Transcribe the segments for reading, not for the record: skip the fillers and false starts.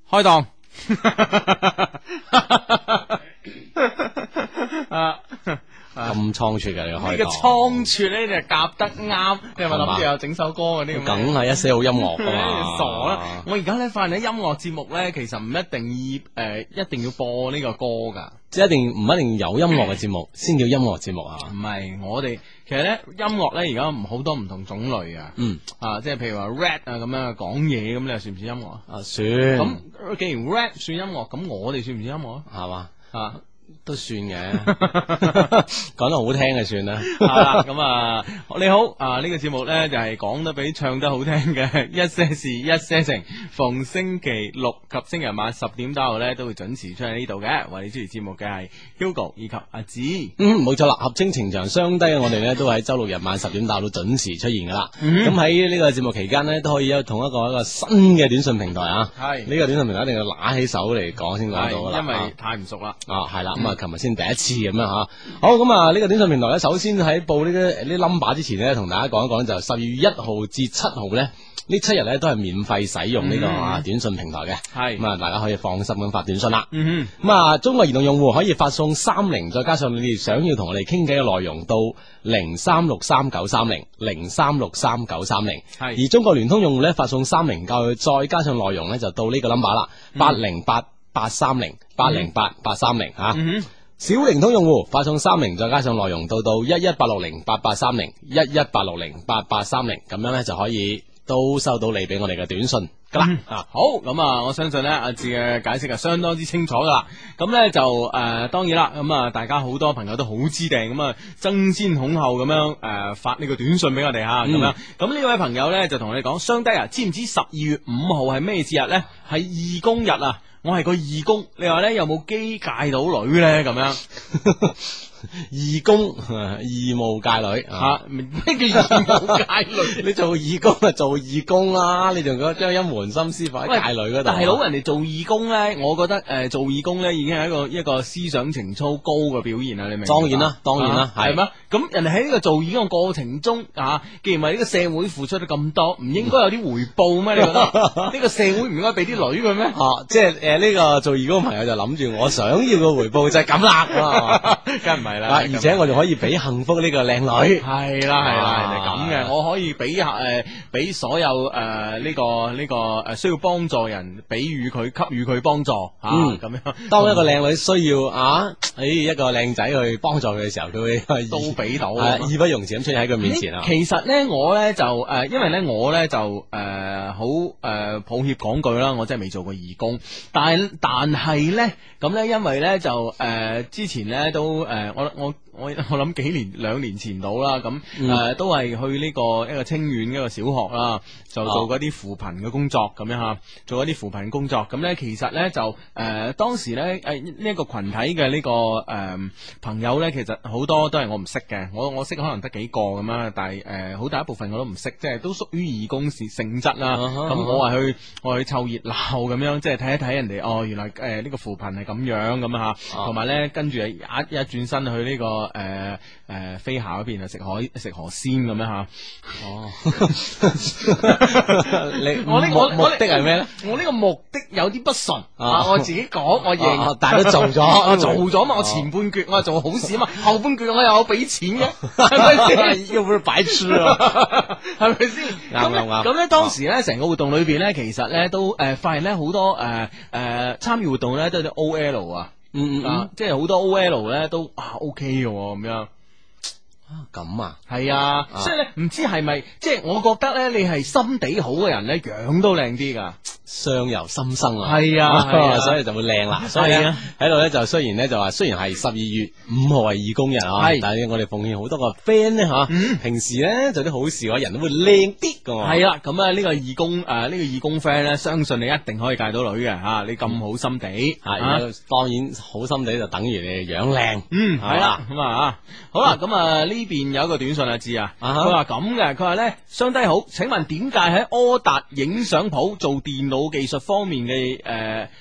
開檔。 咁倉促嘅你開呢個倉促咧就夾得啱，你係咪諗住有整首歌嗰啲咁？ 梗係一些好音樂噶嘛。 傻啦！我而家咧發現咧音樂節目咧，其實唔一定要播呢個歌噶， 即係唔一定有音樂嘅節目先叫音樂節目啊？ 唔係，我哋其實咧音樂咧而家好多唔同種類啊。即係譬如話 rap 啊咁樣講嘢咁，你又算唔算音樂啊？ 算。 咁既然 rap 算音樂，咁我哋算唔算音樂啊？ 係嘛？都算嘅，講得好聽就算啦。 咁你好呢個節目呢，就係講得比唱得好聽嘅一些事一些情，逢星期六及星期日晚10點打後呢，都會準時出喺呢度嘅。為你主持節目嘅係 Hugo 以及阿子。 冇錯啦，合稱情場雙低，我哋呢都喺周六日晚10點打到準時出現噶啦。咁喺呢個節目期間呢，都可以同一個新嘅短信平台啊。係呢個短信平台一定要拿起手嚟講先講到噶啦， 因為太唔熟啦。 係啦，咁琴日先第一次咁樣吓。好，咁呢個短信平台咧，首先喺報呢啲 number 之前呢，同大家講一講，就12月1號至7號呢7日呢都係免費使用呢個短信平台嘅。係咁大家可以放心咁發短信啦。咁中國移動用戶可以發送30，再加上你哋想要同我哋傾偈嘅內容到0363930003639030。係而中國聯通用戶呢，發送30再加上內容呢，就到呢個 number 啦，808830808830吓。小靈通用戶發送30，再加上內容到118608830，118608830，咁樣呢就可以都收到你俾我哋嘅短信噶啦。 好，咁我相信呢阿志嘅解釋係相當之清楚噶啦。咁呢就當然啦，咁大家好多朋友都好知定，咁爭先恐後咁樣發呢個短信俾我哋吓，咁樣。咁呢位朋友呢，就同我哋講，雙低啊，知唔知12月5號係咩節日呢？係義工日啊！我係個義工，你話咧有冇機界到女咧咁樣？義工義務界女咩叫義務界女？ 你做義工就做義工啦，你仲將一門心思放喺界女嗰度。 大佬，人哋做義工咧，我覺得做義工咧已經係一個思想情操高嘅表現啦，你明唔明？ 當然啦， 係咩？咁人哋喺呢個做義工嘅過程中既然為呢個社會付出咗咁多，唔應該有啲回報咩？你覺得呢個社會唔應該俾啲女佢咩？ 即係呢個做義工朋友就諗住我想要嘅回報就係咁啦， 梗唔係啦。 而且我仲可以俾幸福呢個靚女， 係啦，人哋咁嘅，我可以俾所有呢個需要幫助人，給予佢幫助咁樣。 當一個靚女需要一個靚仔去幫助佢嘅時候，佢會都俾到， 義不容辭咁出現喺佢面前啊。 其實咧，我咧就因為咧我咧就好抱歉講句啦，我真係未做過義工，但係咧咁咧，因為咧就之前咧都我諗2年前到啦，咁都係去呢個一個清遠一個小學啦，就做嗰啲扶貧嘅工作咁樣吓，做一啲扶貧工作。咁咧其實咧就當時咧呢一個群體嘅呢個朋友咧，其實好多都係我唔識嘅，我識可能得幾個咁樣，但係好大一部分我都唔識，即係都屬於義工性質啦。咁我係去湊熱鬧咁樣，即係睇一睇人哋原來呢個扶貧係咁樣咁吓，同埋咧跟住一轉身去呢個飛下嗰邊啊，食河鮮咁樣吓。我呢個目的係咩咧？我呢個目的有啲不純我自己講，我認， 但係都做咗嘛。我前半橛我係做好事啊嘛，後半橛我又有俾錢嘅，係咪先？ 又唔係白痴啊， 係咪先？ 啱。 咁咧當時咧成個活動裏邊咧，其實咧都發現咧好多參與活動咧都係啲 OL 啊。即係好多 OL 咧都OK 嘅咁樣咁係所以咧唔知係咪即係我覺得咧你係心地好嘅人咧樣都靚啲噶， 相由心生係啊， 所以就會靚啦。所以喺度咧就雖然係12月5號係義工日但係我哋奉獻好多個 friend 咧平時咧做啲好事嘅話人都會靚啲噶。係啦，咁呢個義工呢個義工 friend 咧，相信你一定可以戒到女嘅你咁好心地當然好心地就等於你樣靚。 係啦，咁好啦，咁呢邊有一個短信啊，知佢話咁嘅，佢話咧相低好，請問點解喺柯達影相鋪做電腦技術方面嘅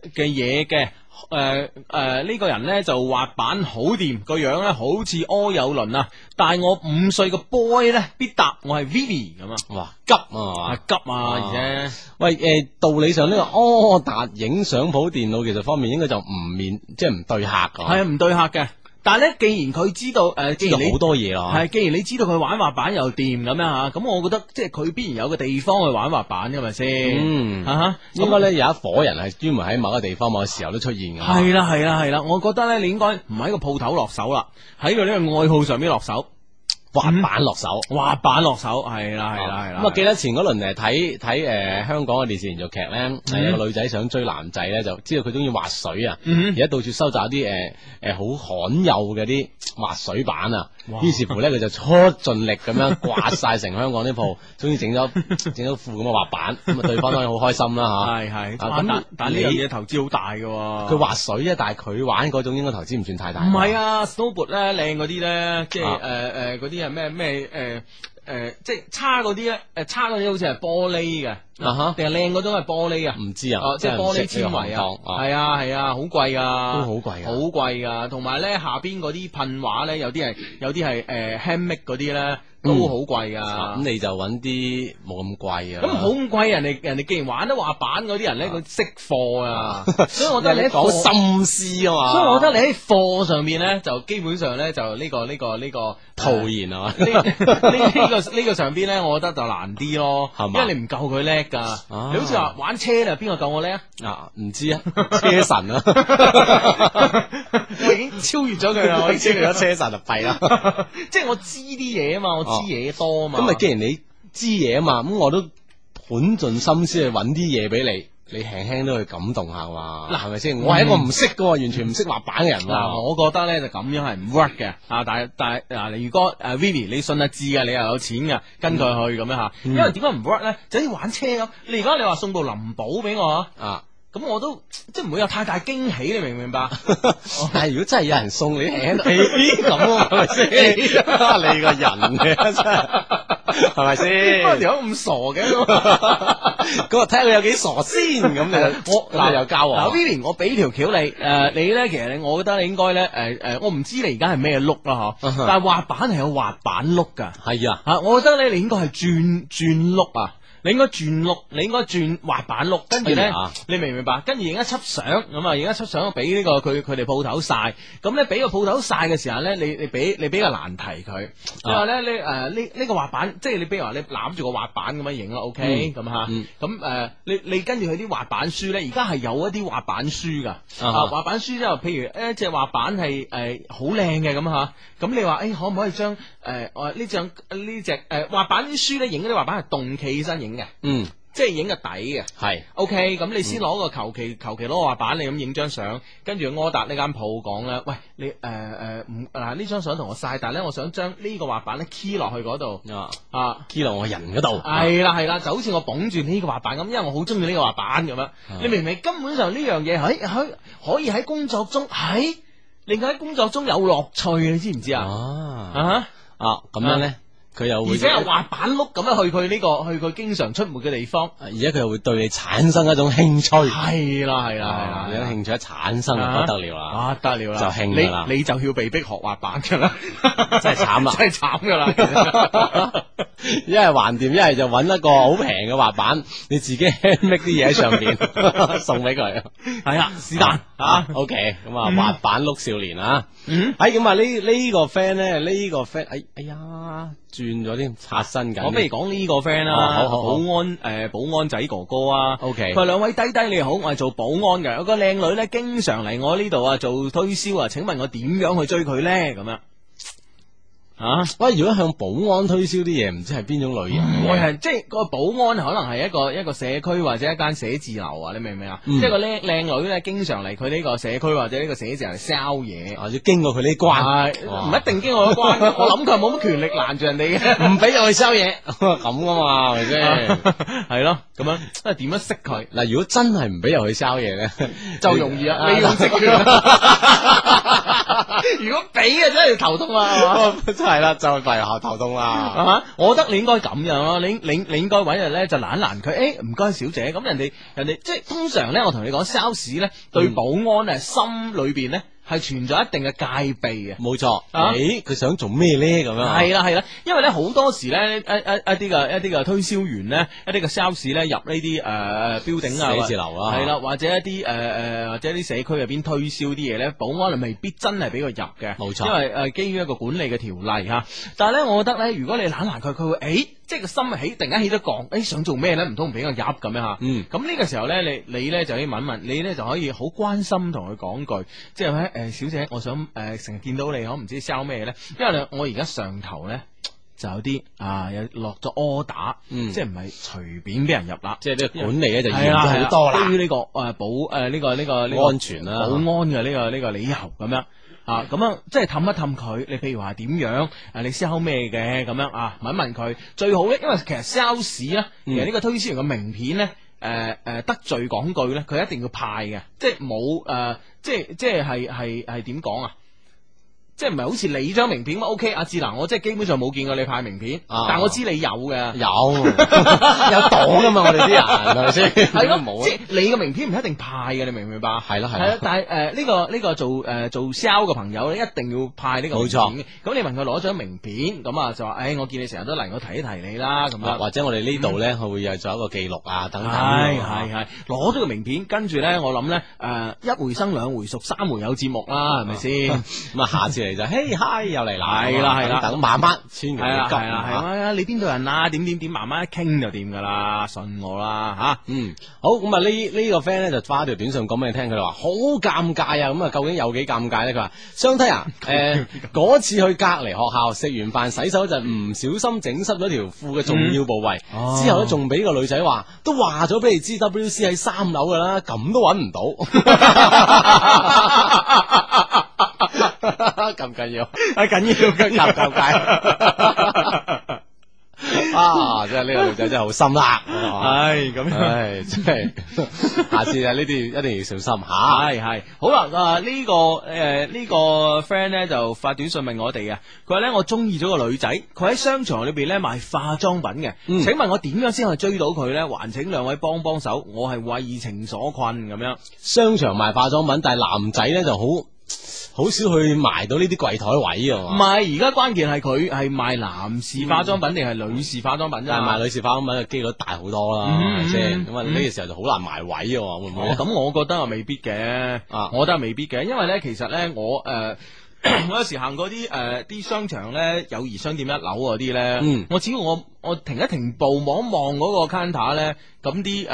嘅嘢嘅。呢個人呢就滑板好掂，個樣呢好似柯有倫啊，大我5歲嘅 boy 呢必答我係 Vivi 咁啊， 哇急啊！ 急啊，而且喂道理上呢個柯達影相鋪電腦技術方面應該就即係唔對客㗎， 係啊唔對客嘅。但係咧，既然佢知道既然你好多嘢啊， 係，既然你知道佢玩滑板又掂咁樣吓，咁我覺得即係佢必然有個地方去玩滑板嘅咪先， 應該咧有一伙人係專門喺某個地方、某個時候都出現嘅。 係啦係啦係啦，我覺得咧你應該唔喺個鋪頭落手啦，喺佢呢個愛好上邊落手。 滑板落手， 滑板落手，係啦係啦係啦。 咁啊，記得前嗰輪睇香港嘅電視連續劇咧，有個女仔想追男仔咧，就知道佢中意滑水啊，而家到處收集一啲好罕有嘅啲滑水板啊，於是乎咧佢就出盡力咁樣刮晒成香港啲鋪，終於整咗副咁嘅滑板，咁啊對方當然好開心啦嚇。 係咁，但呢樣嘢投資好大嘅喎。 佢滑水啫，但係佢玩嗰種應該投資唔算太大。 唔係啊 ，snowboard 咧靚嗰啲咧，即係嗰啲係咩即係差嗰啲咧，差嗰啲好似係玻璃嘅，定係靚嗰種係玻璃啊？唔知啊，即係玻璃纖維啊，係啊，好貴噶， 都好貴， 好貴噶。同埋咧下邊嗰啲噴畫咧，有啲係handmade 嗰啲咧。都好貴噶， 咁你就揾啲冇咁貴啊。 咁好咁貴，人哋既然玩得滑板嗰啲人咧，佢識貨啊，所以我覺得你喺講心思啊嘛。 所以我覺得你喺貨上面咧，就基本上咧就呢個套現啊嘛。 呢個上邊咧，我覺得就難啲咯，因為你唔夠佢叻噶。你好似話玩車啊，邊個夠我叻啊？ 唔知啊，車神啊， 我已經超越咗佢啦，我已經超越咗車神就弊啦。 即係我知啲嘢啊嘛，知嘢多啊嘛， 咁咪既然你知嘢啊嘛，咁我都盤盡心思去揾啲嘢俾你輕輕都去感動下嘛，嗱係咪先？我係一個唔識嘅，完全唔識滑板嘅人。 嗱，我覺得咧就咁樣係唔 work 嘅啊！但係嗱，如果Vivi 你信得知嘅，你又有錢嘅，跟佢去咁樣吓，因為點解唔 work 咧？就好似玩車咁，你而家你話送部林寶俾我啊？咁我都即係唔會有太大驚喜，你明唔明白？ 但係如果真係有人送你輕咁啊，係咪先？你個人嘅真係係咪先？ 條友咁傻嘅， 咁啊睇下佢有幾傻先咁你我又教我。 Vivi，我俾條橋你，你咧其實我覺得你應該咧我唔知你而家係咩碌啦嗬，但係滑板係有滑板碌噶， 係啊， 我覺得咧你應該係轉碌啊。你應該轉碌，你應該轉滑板碌，跟住咧，你明唔明白？跟住影一輯相咁啊，影一輯相俾呢個佢哋鋪頭晒。咁咧俾個鋪頭晒嘅時候咧，你俾個難題佢，你話咧呢個滑板，即係你比如話你攬住個滑板咁樣影啦 OK 咁吓，咁你跟住佢啲滑板書咧，而家係有一啲滑板書噶，滑板書之後，譬如一隻滑板係好靚嘅咁吓，咁你話可唔可以將呢隻滑板書咧影嗰啲滑板係動企起身影嘅，即係影個底嘅，係 OK。咁你先攞個求其攞個滑板，你咁影張相，跟住柯達呢間鋪講咧，喂，你呢張相同我晒，但係咧我想將呢個滑板咧 key 落去嗰度 key 落我人嗰度， 係啦，就好似我捧住呢個滑板咁，因為我好中意呢個滑板咁樣，你明唔明？根本上呢樣嘢可以喺工作中令佢喺工作中有樂趣，你知唔知啊？ 咁樣咧。佢又會， 而且係滑板碌咁樣去佢經常出沒嘅地方， 而且佢又會對你產生一種興趣。 係啦， 有興趣一產生就不得了啦， 得了啦， 就興噶啦， 你就要被逼學滑板噶啦， 真係慘啦， 真係慘噶啦。 一係還掂，一係就揾一個好平嘅滑板，你自己 handmade 啲嘢喺上邊送俾佢。 係啦，是但 OK，咁啊滑板碌少年啊，咁啊呢個 friend 咧，呢個 friend，哎呀。轉咗添，刷新緊。 我不如講呢個 friend 啦，保安仔哥哥啊。 OK， 佢話兩位低你好，我係做保安嘅，有個靚女咧，經常嚟我呢度啊做推銷啊，請問我點樣去追佢咧？咁樣。 喂，如果向保安推銷啲嘢，唔知係邊種類型？ 我係即係個保安可能係一個社區或者一間寫字樓啊，你明唔明啊？即係個靚女咧，經常嚟佢呢個社區或者呢個寫字樓嚟 sell 嘢， 要經過佢呢關， 唔一定經過嗰關。我諗佢冇乜權力攔住人哋嘅， 唔俾入去 sell 嘢咁噶嘛，係咪先？ 係咯，咁樣即係點樣識佢？ 嗱，如果真係唔俾入去 sell 嘢咧， 就容易啊，利用職權。如果俾啊，真係頭痛啊，係嘛？ 係啦，就係後頭痛啦。 啊！我覺得你應該咁樣咯，你應該揾日咧就攔佢，誒唔該小姐，咁人哋即係通常咧，我同你講 sales 咧對保安啊心裏邊咧係存在一定嘅戒備嘅， 冇錯。 啊佢想做咩咧？咁樣係啦，因為咧好多時咧一啲嘅推銷員咧，一啲嘅 sales 咧入呢啲building 啊， 寫字樓啊， 係啦，或者一啲或者啲社區入邊推銷啲嘢咧，保安係未必真係俾佢入嘅， 冇錯。 因為基於一個管理嘅條例嚇，但係咧，我覺得咧，如果你攔佢，佢會即係個心起，突然間起咗降，想做咩咧？唔通唔俾我入咁樣嚇？咁呢個時候咧，你咧就可以問問，你咧就可以好關心同佢講句，即係咧小姐，我想成日見到你，我唔知 sell 咩咧？因為我而家上頭咧就有啲有落咗 order，即係唔係隨便俾人入啦， 即係呢個管理咧就嚴咗好多啦。 基於呢個呢個安全啦， 保安嘅呢個理由咁樣。咁樣即係氹一氹佢，你譬如話點樣你 sell 咩嘅咁樣問一問佢最好咧，因為其實 sales 咧，其實呢個推銷員嘅名片咧，得罪講句咧，佢一定要派嘅，即係冇即係點講啊？即係唔係好似你張名片咁 OK？阿志嗱，我即係基本上冇見過你派名片，但我知你有嘅， 有黨噶嘛，我哋啲人係咪先？ 係咯，即係你嘅名片唔一定派嘅，你明唔明白？ 係咯， 但係呢個做 sell 嘅朋友咧，一定要派呢個名片。冇錯。咁你問佢攞張名片，咁就話，我見你成日都嚟，我提一提你啦，咁樣。或者我哋呢度咧，佢會有做一個記錄啊，等等。係，攞咗個名片，跟住咧，我諗咧，一回生兩回熟，三回有節目啦，係咪先？咁啊，下次嚟就嘿嗨又嚟啦，係啦，等慢慢，千祈唔好急啊！你邊度人啊？點，慢慢一傾就掂噶啦，信我啦吓。 好，咁啊呢個 friend 咧就發條短信講俾你聽，佢話好尷尬啊！咁啊究竟有幾尷尬咧？佢話相睇啊，嗰次去隔離學校食完飯洗手就唔小心整濕咗條褲嘅重要部位，之後咧仲俾個女仔話，都話咗俾你知 WC 喺3樓噶啦，咁都揾唔到。咁緊要，緊要，尷尬。真係呢個女仔真係好心啦，咁，真係，下次呢啲一定要小心吓。 係，好啦，呢個 friend 咧就發短信問我哋啊，佢話咧我中意咗個女仔，佢喺商場裏邊咧賣化妝品嘅，請問我點樣先可以追到佢咧？還請兩位幫幫手，我係為情所困咁樣。 商場賣化妝品，但係男仔咧就好少去埋到呢啲櫃台位啊！ 唔係，而家關鍵係佢係賣男士化妝品定係女士化妝品啫？ 賣女士化妝品嘅機率大好多啦，係咪先？咁啊呢個時候就好難埋位嘅，會唔會？ 咁我覺得未必嘅，我覺得未必嘅，因為咧其實咧我有時行過啲商場咧，友誼商店1樓嗰啲咧，我只要我停一停步望一望嗰個 counter 咧，咁啲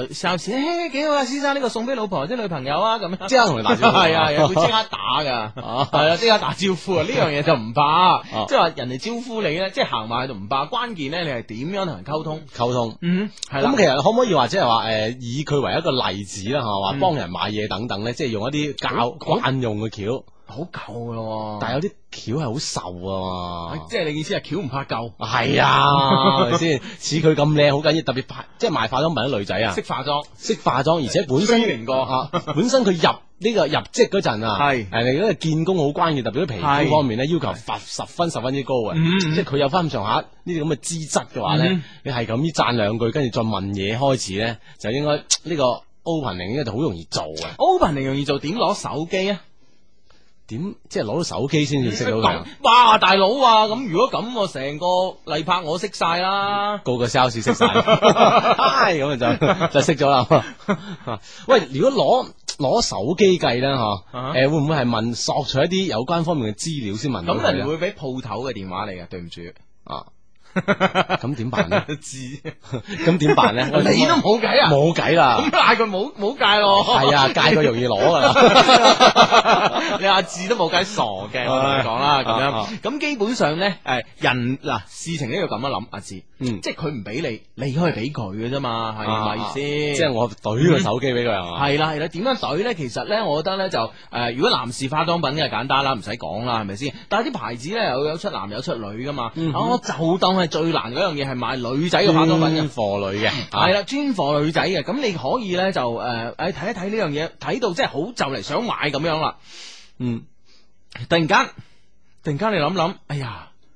sales 幾好啊，先生呢個送俾老婆或者女朋友啊，咁樣即刻同你打招呼， 係會即刻打噶，係啦，即刻打招呼啊！呢樣嘢就唔怕，即係話人哋招呼你咧，即係行埋去就唔怕，關鍵咧你係點樣同人溝通？係啦。咁其實可唔可以話即係話以佢為一個例子啦，係嘛，幫人買嘢等等咧，即係用一啲慣用嘅橋。 好舊咯， 但係有啲橋係好瘦啊， 即係你意思係橋唔怕舊？ 係啊，係咪先？似佢咁靚，好緊要，特別即係賣化妝品啲女仔啊， 識化妝，而且本身本身佢入呢個入職嗰陣啊，係你嗰個見工好關鍵，特別喺皮膚方面咧要求十分之高嘅，即係佢有翻咁上下呢啲咁嘅資質嘅話咧，你係咁讚兩句，跟住再問嘢開始咧，就應該呢個 opening 應該就好容易做嘅。 opening 容易做，點攞手機啊？ 點即係攞到手機先至識到佢？ 哇，大佬啊！咁如果咁，我成個例拍我識晒啦， 個 sales 識晒，咁就識咗啦。喂，如果攞手機計咧，會唔會係問索取一啲有關方面嘅資料先問到佢？ 咁人哋會俾鋪頭嘅電話嚟嘅，對唔住啊。 咁點辦咧？咁點辦咧？ 你都冇計啊！ 冇計啦！ 咁嗌佢冇戒咯。 係啊，戒佢容易攞噶啦。 你阿志都冇計傻嘅，我同你講啦，咁樣。咁基本上咧，人嗱事情呢要咁樣諗，阿志，即係佢唔俾你，你可以俾佢嘅啫嘛，係咪先？ 即係我懟個手機俾佢係嘛？ 係啦，點樣懟咧？其實咧，我覺得咧就如果男士化妝品嘅簡單啦，唔使講啦，係咪先？但係啲牌子咧有出男有出女噶嘛，我就當係最難嗰樣嘢係賣女仔嘅化妝品嘅， 專貨女嘅，係啦，專貨女仔嘅。咁你可以咧就睇一睇呢樣嘢，睇到即係好就嚟想買咁樣啦。突然間你諗，哎呀，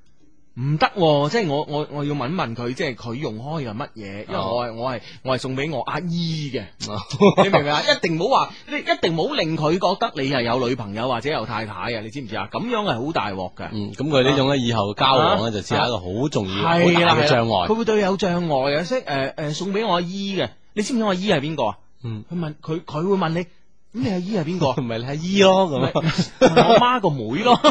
唔得喎，即係我要問一問佢，即係佢用開嘅乜嘢，因為我係送俾我阿姨嘅，你明唔明啊？一定唔好話，你一定唔好令佢覺得你係有女朋友或者有太太啊，你知唔知啊？咁樣係好大鑊嘅。 咁佢呢種咧以後交往咧就似係一個好重要、好大嘅障礙。 佢會對你有障礙啊！即送俾我阿姨嘅，你知唔知我阿姨係邊個啊？佢問佢會問你。咁你阿姨係邊個？ 唔係你阿姨咯，咁我媽個妹咯。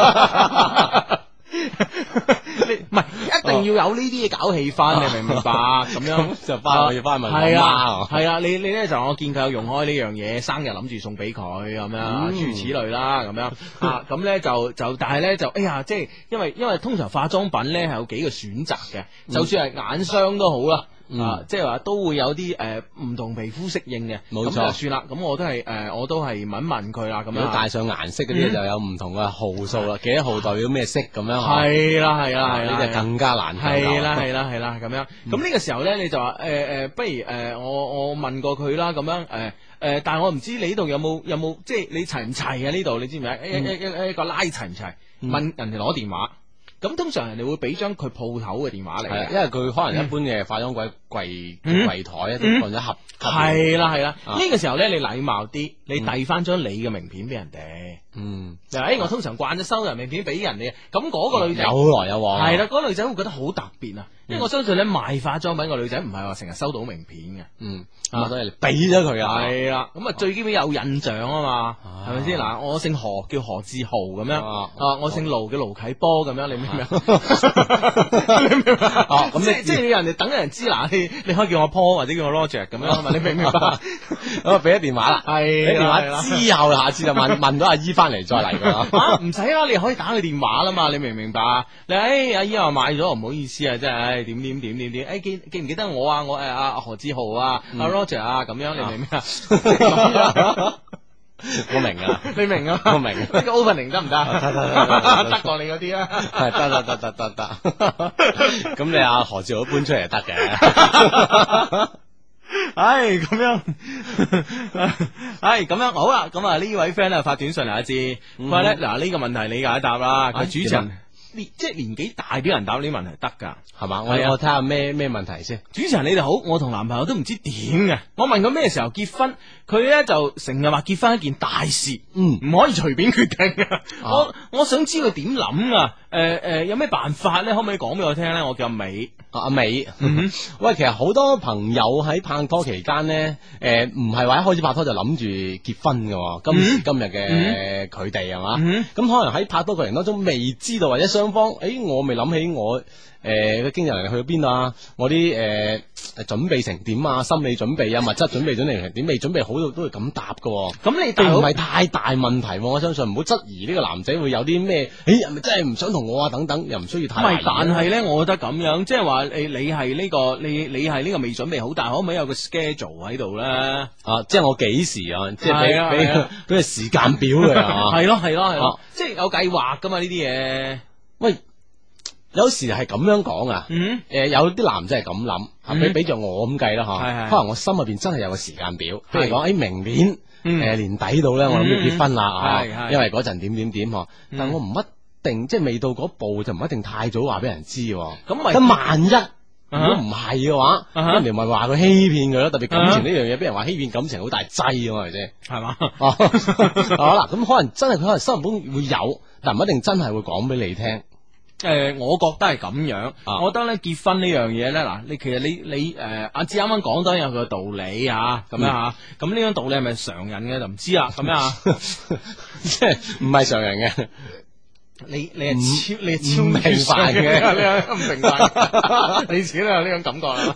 你唔係一定要有呢啲嘢搞氣氛，你明唔明白？咁樣就我要翻問我媽。 係啊，你咧就我見佢有用開呢樣嘢，生日諗住送俾佢咁樣，諸如此類啦，咁樣啊，咁咧就但係咧就哎呀，即係因為通常化妝品咧係有幾個選擇嘅，就算係眼霜都好啦。即係話都會有啲唔同皮膚適應嘅， 冇錯。 咁就算啦，咁我都係問問佢啦，咁樣。 如果帶上顏色嗰啲就有唔同嘅號數啦，幾多號代表咩色咁樣。 係啦， 呢啲更加難。 係啦，咁樣。咁呢個時候咧，你就話不如我問過佢啦，咁樣但係我唔知你呢度有冇即係你齊唔齊啊？呢度你知唔知一個拉齊唔齊？問人哋攞電話。咁通常人哋會俾張佢鋪頭嘅電話嚟， 因為佢可能一般嘅化妝櫃台咧都放咗盒。 係啦，呢個時候咧，你禮貌啲，你遞翻張你嘅名片俾人哋。我通常慣咗收人名片俾人哋，咁嗰個女仔有來有往。 係啦，嗰個女仔會覺得好特別啊，因為我相信咧賣化妝品個女仔唔係話成日收到名片嘅。 所以你俾咗佢啊。 係啦，咁啊最基本有印象啊嘛，係咪先？嗱，我姓何叫何志豪咁樣，我姓盧叫盧啟波咁樣，你明唔明？你明唔明？咁即係人哋等人知嗱，你可以叫我 Paul 或者叫我 Roger 咁樣，你明唔明白？ 咁啊俾咗電話啦，俾電話之後，下次就問到阿姨翻嚟再嚟噶。 唔使啦，你可以打佢電話啦嘛，你明唔明白？你阿姨話買咗，唔好意思啊，真係點，記唔記得我啊？我阿何志豪啊，阿 Roger 啊，咁樣你明唔明啊？ 我明啊， 你明啊？ 我明。呢個 opening 得唔得？得過你嗰啲啊？ 係得。咁你阿何志豪搬出嚟就得嘅。 咁樣，咁樣好啦。咁啊呢位 friend 咧發短信嚟一知，佢話咧嗱呢個問題你解答啦。佢主持人即係年紀大啲人答呢啲問題得噶， 係嘛？我睇下咩問題先。 主持人你哋好，我同男朋友都唔知點嘅。我問佢咩時候結婚，佢咧就成日話結婚一件大事，唔可以隨便決定嘅。我想知佢點諗啊？有咩辦法咧？可唔可以講俾我聽咧？我叫阿美。 阿美，喂，其實好多朋友喺拍拖期間咧，唔係話一開始拍拖就諗住結婚嘅，今時今日嘅佢哋係嘛，咁可能喺拍拖過程當中未知道或者雙方，我未諗起我嘅經濟能力去到邊啊，我啲準備成點啊，心理準備啊，物質準備成點，未準備好都會咁答嘅，咁你並唔係太大問題，我相信唔好質疑呢個男仔會有啲咩，係咪真係唔想同我啊等等，又唔需要太懷疑。但係咧，我覺得咁樣，即係話你係呢個你係呢個未準備好，但係可唔可以有個 schedule 喺度咧？即係我幾時啊？即係俾個時間表嘅啊？係咯，即係有計劃噶嘛呢啲嘢。喂。有時係咁樣講啊，有啲男仔係咁諗，俾着我咁計啦吓，可能我心入邊真係有個時間表，譬如講喺明年年底度咧，我諗要結婚啦，因為嗰陣點嗬，但我唔一定，即係未到嗰步就唔一定太早話俾人知，咁萬一如果唔係嘅話，人哋咪話佢欺騙佢咯，特別感情呢樣嘢，俾人話欺騙感情好大劑啊嘛，係咪先？係嘛？好啦，咁可能真係佢可能心入邊會有，但唔一定真係會講俾你聽。我覺得係咁樣，我覺得咧結婚呢樣嘢咧，嗱，你其實你阿志啱啱講當然有佢嘅道理吓，咁樣吓，咁呢種道理係咪常人嘅就唔知啦，咁樣即係唔係常人嘅。你係超明白嘅，唔明白，你自己都有呢種感覺啦。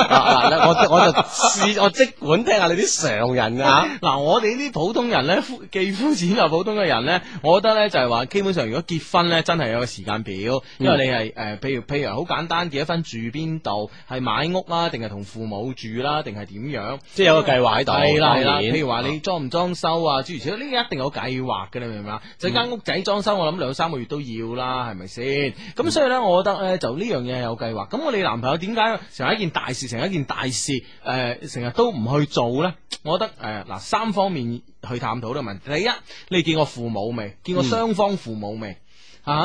我即管聽下你啲常人啊。嗱，我哋呢啲普通人咧，既膚淺又普通嘅人咧，我覺得咧就係話，基本上如果結婚咧，真係有個時間表，因為你係譬如好簡單結咗婚住邊度，係買屋啦，定係同父母住啦，定係點樣，即係有個計劃喺度。係啦，譬如話你裝唔裝修啊，諸如此類，呢啲一定有計劃嘅，你明唔明啊？就間屋仔裝修，我諗2-3個月都要啦，係咪先？咁所以咧，我覺得咧就呢樣嘢係有計劃。咁我哋男朋友點解成日一件大事，成日都唔去做咧？我覺得嗱3方面去探討呢個問題。第一，你見過父母未？見過雙方父母未？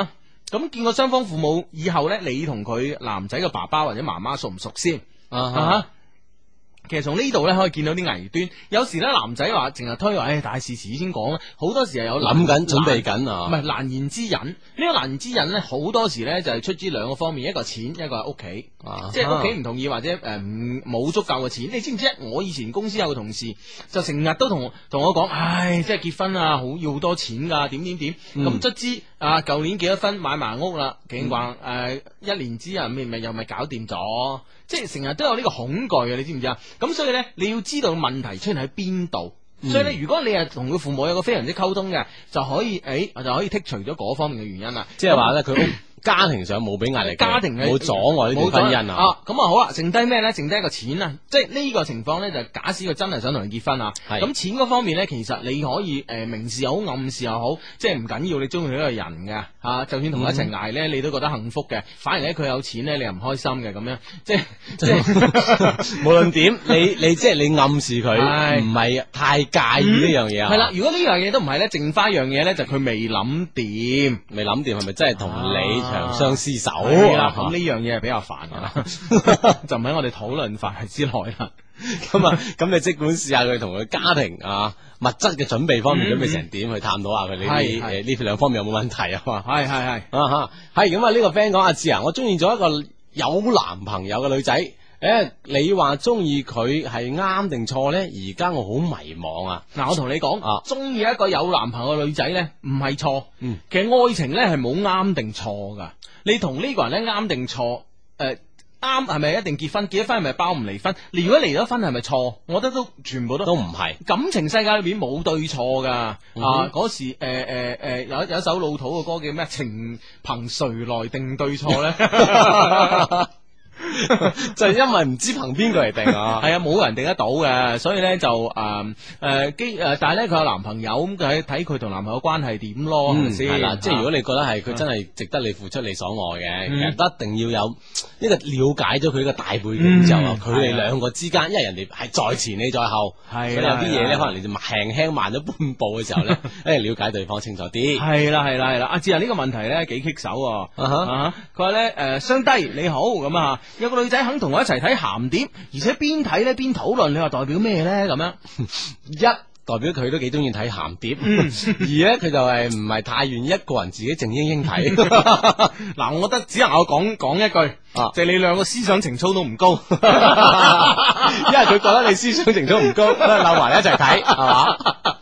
咁見過雙方父母以後咧，你同佢男仔嘅爸爸或者媽媽熟唔熟先？其實從呢度咧可以見到啲危端，有時咧男仔話淨係推話，大事遲先講啦，好多時係有諗緊準備緊啊， 唔係難言之隱。呢個難言之隱咧，好多時咧就係出自兩個方面，一個錢，一個係屋企，即係屋企唔同意或者冇足夠嘅錢。你知唔知？我以前公司有個同事就成日都同我講，即係結婚啊，要好多錢噶，點咁卒之舊年結咗婚買埋屋啦，竟話1年之後又咪搞掂咗。即係成日都有呢個恐懼啊！你知唔知啊？咁所以咧，你要知道問題出現喺邊度。所以咧，如果你係同佢父母有個非常之溝通嘅，就可以剔除咗嗰方面嘅原因啦。 即係話咧，佢家庭上冇俾壓力， 家庭冇阻礙呢段婚姻啊。 咁好啦，剩低咩咧？剩低一個錢啊！即係呢個情況咧，就假使佢真係想同人結婚啊。咁錢嗰方面咧，其實你可以明示又好，暗示又好，即係唔緊要。你中意呢個人嘅就算同佢一齊捱咧，你都覺得幸福嘅。反而咧，佢有錢咧，你又唔開心嘅咁樣。即係無論點，你即係你暗示佢唔係太介意呢樣嘢啊。 係啦，如果呢樣嘢都唔係咧，剩翻一樣嘢咧，就佢未諗掂， 係咪真係同你長相廝守啦？咁呢樣嘢係比較煩噶啦，就唔喺我哋討論範圍之內啦。 咁你即管試下佢同佢家庭物質嘅準備方面準備成點，去探討下佢呢兩方面有冇問題啊嘛？ 係係咁啊！呢個 friend 講阿志啊，我中意咗一個有男朋友嘅女仔。你話中意佢係啱定錯咧？而家我好迷茫啊！ 嗱，我同你講，中意一個有男朋友嘅女仔咧，唔係錯。其實愛情咧係冇啱定錯噶。你同呢個人咧啱定錯？啱係咪一定結婚？結咗婚係咪包唔離婚？你如果離咗婚係咪錯？我覺得都全部都唔係。感情世界裏邊冇對錯噶。嗰時有一首老土嘅歌叫咩？情憑誰來定對錯咧？ 就係因為唔知憑邊個嚟定啊， 係啊，冇人定得到嘅，所以咧就但係咧佢有男朋友，咁佢睇佢同男朋友關係點咯，係咪先？ 係啦，即係如果你覺得係佢真係值得你付出你所愛嘅，其實一定要有呢個了解咗佢嘅大背景之後，佢哋兩個之間，因為人哋係在前你在後，所以有啲嘢咧可能你就輕慢咗半步嘅時候咧，了解對方清楚啲。係啦， 阿志啊，呢個問題咧幾棘手，佢話咧雙低你好咁啊。有個女仔肯同我一齊睇鹹碟，而且邊睇咧邊討論，你話代表咩咧？咁樣一代表佢都幾中意睇鹹碟，二咧佢就係唔係太願意一個人自己靜英睇。 嗱，我覺得只能我講一句，就係你兩個思想情操都唔高，因為佢覺得你思想情操唔高，扭埋一齊睇，係嘛？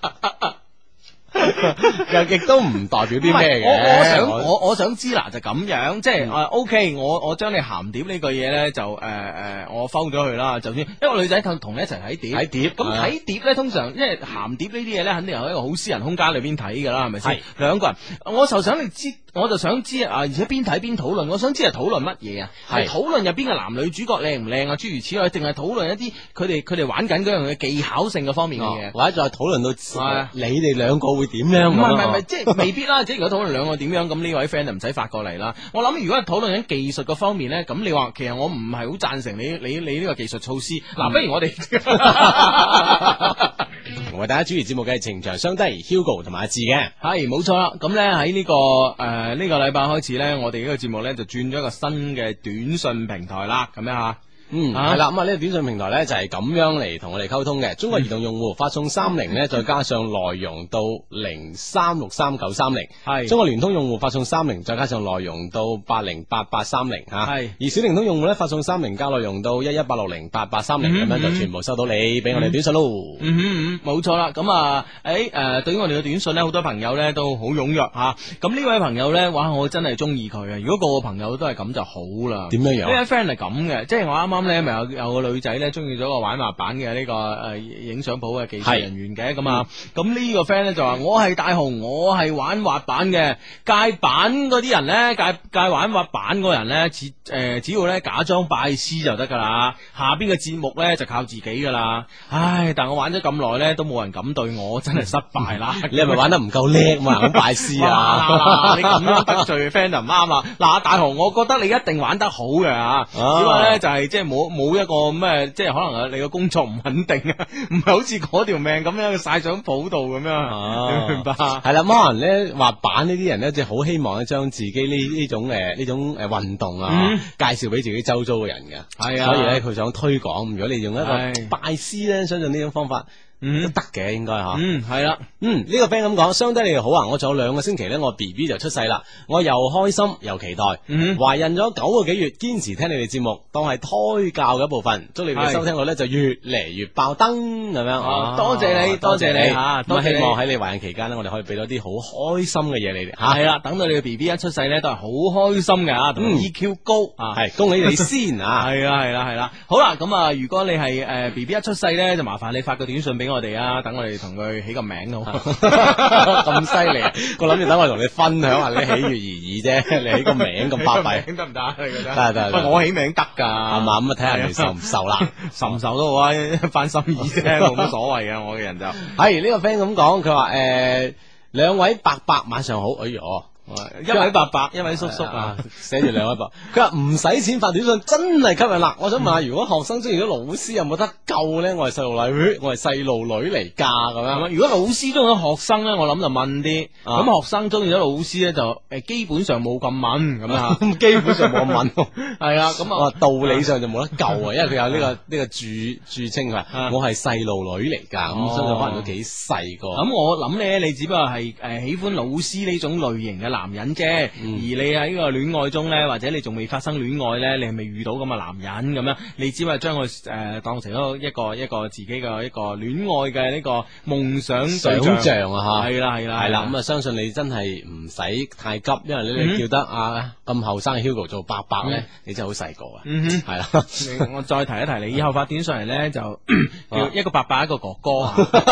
又亦都唔代表啲咩嘅， 我想知嗱就咁樣，即係OK，我將你鹹碟呢個嘢咧就我摟咗佢啦，就算一個女仔同你一齊睇碟，咁睇碟咧通常因為鹹碟呢啲嘢咧肯定係喺一個好私人空間裏邊睇噶啦，係咪先？兩個人，我就想知而且邊睇邊討論，我想知係討論乜嘢啊？係討論入邊嘅男女主角靚唔靚啊？諸如此類，定係討論一啲佢哋玩緊嗰樣嘅技巧性嘅方面嘅嘢， 或者再討論到你哋兩個會點樣？ 唔係，即係未必啦。即係如果討論兩個點樣，咁呢位 friend 就唔使發過嚟啦。我諗如果係討論緊技術嗰方面咧，咁你話其實我唔係好贊成你呢個技術措施。嗱，不如我哋為大家主持節目嘅係情場相低 Hugo 同埋阿志嘅， 係冇錯啦。咁咧喺呢個呢個禮拜開始咧，我哋呢個節目咧就轉咗一個新嘅短信平台啦。咁樣吓。 係啦，咁啊呢個短信平台咧就係咁樣嚟同我哋溝通嘅。中國移動用戶發送30咧，再加上內容到03633930，係。中國聯通用戶發送30，再加上內容到808830吓，係。而小靈通用戶咧發送30加內容到118608830，咁樣就全部收到你俾我哋短信咯。 冇錯啦。咁對於我哋嘅短信咧，好多朋友咧都好踴躍吓。咁呢位朋友咧，哇，我真係中意佢啊！如果個個朋友都係咁就好啦。點樣？呢位 friend 係咁嘅，即係我啱啱咧咪有個女仔咧中意咗個玩滑板嘅呢個影相鋪嘅技術人員嘅咁啊，咁呢個 friend 咧就話我係大雄，我係玩滑板嘅，界板嗰啲人咧界玩滑板嗰人咧只要咧假裝拜師就得噶啦，下邊嘅節目咧就靠自己噶啦。唉，但我玩咗咁耐咧都冇人敢對我，真係失敗啦。 你係咪玩得唔夠叻嘛？咁拜師啊？ 你咁樣得罪 friend 就唔啱啦。嗱，大雄，我覺得你一定玩得好嘅只不過咧就係即係冇一個咩，即係可能你個工作唔穩定啊，唔係好似嗰條命咁樣曬上譜度咁樣，你明白？ 係啦，可能咧滑板呢啲人咧，即係好希望咧將自己呢種運動啊，介紹俾自己周遭嘅人嘅。係啊，所以咧佢想推廣。如果你用一個拜師咧，相信呢種方法。都得嘅，應該吓。 係啦。 呢個 friend 咁講，相低你哋好啊！我仲有2個星期咧，我 B B 就出世啦，我又開心又期待。懷孕咗9個幾月，堅持聽你哋節目，當係胎教嘅一部分。祝你哋收聽率咧就越嚟越爆燈咁樣。 多謝你，多謝你吓。 咁希望喺你懷孕期間咧，我哋可以俾到啲好開心嘅嘢你哋吓。 係啦，等到你嘅 B B 一出世咧，都係好開心嘅啊，同 EQ 高啊。 係恭喜你先啊！ 係啦。好啦，咁啊，如果你係BB 一出世咧，就麻煩你發個短信俾我哋啊，等我哋同佢起個名好。 咁犀利，我諗住等我同你分享下你喜悅而已啫，你起個名咁巴閉， 得唔得？你覺得？ 得。 不過我起名得噶， 係嘛？咁啊睇下你受唔受啦， 受唔受都好啊，一番心意啫，冇乜所謂嘅。我嘅人就係呢個 friend 咁講，佢話2位伯伯晚上好，哎喲。 一位伯伯，一位叔叔啊， 寫住2位伯。佢話唔使錢發短信真係吸引啦。我想問下，如果學生中意咗老師有冇得救咧？我係細路女，我係細路女嚟㗎咁樣。 如果老師中意咗學生咧，我諗就問啲。咁學生中意咗老師咧，就基本上冇咁問咁啊。 基本上冇咁問。 係啊，咁啊道理上就冇得救啊，因為佢有呢個注稱佢，我係細路女嚟㗎。咁相信可能都幾細個。 咁我諗咧，你只不過係喜歡老師呢種類型嘅男人啫，而你喺呢個戀愛中咧，或者你仲未發生戀愛咧，你係未遇到咁嘅男人咁樣，你只係將佢當成一個自己嘅一個戀愛嘅呢個夢想像啊吓，係啦，咁啊相信你真係唔使太急，因為你叫得咁後生嘅 Hugo 做伯伯咧，你真係好細個啊，係啦， 我再提一提你，以後發短上嚟咧就叫一個伯伯一個哥哥，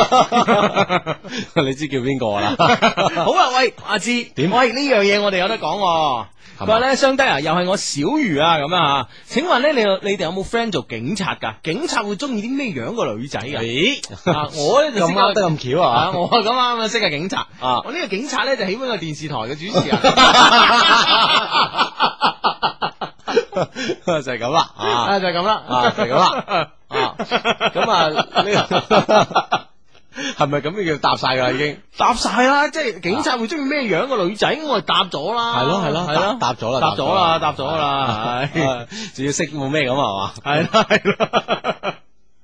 你知叫邊個啦？ 好啊，喂，阿芝點？喂，呢樣嘢我哋有得講。佢話咧，相低啊，又係我小魚啊，咁啊，請問咧，你哋有冇 friend 做警察噶？警察會中意啲咩樣嘅女仔噶？我咧就咁啱得咁巧啊！ 我咁啱啊，識個警察啊！我呢個警察咧就喜歡個電視台嘅主持人， 就係咁啦， 就係咁啦， 就係咁啦，咁啊呢個。係咪咁叫答晒噶？已經答晒啦，即係警察會中意咩樣嘅女仔，我係答咗啦。 係咯，答咗啦， 答咗啦， 仲要識冇咩咁係嘛？ 係啦。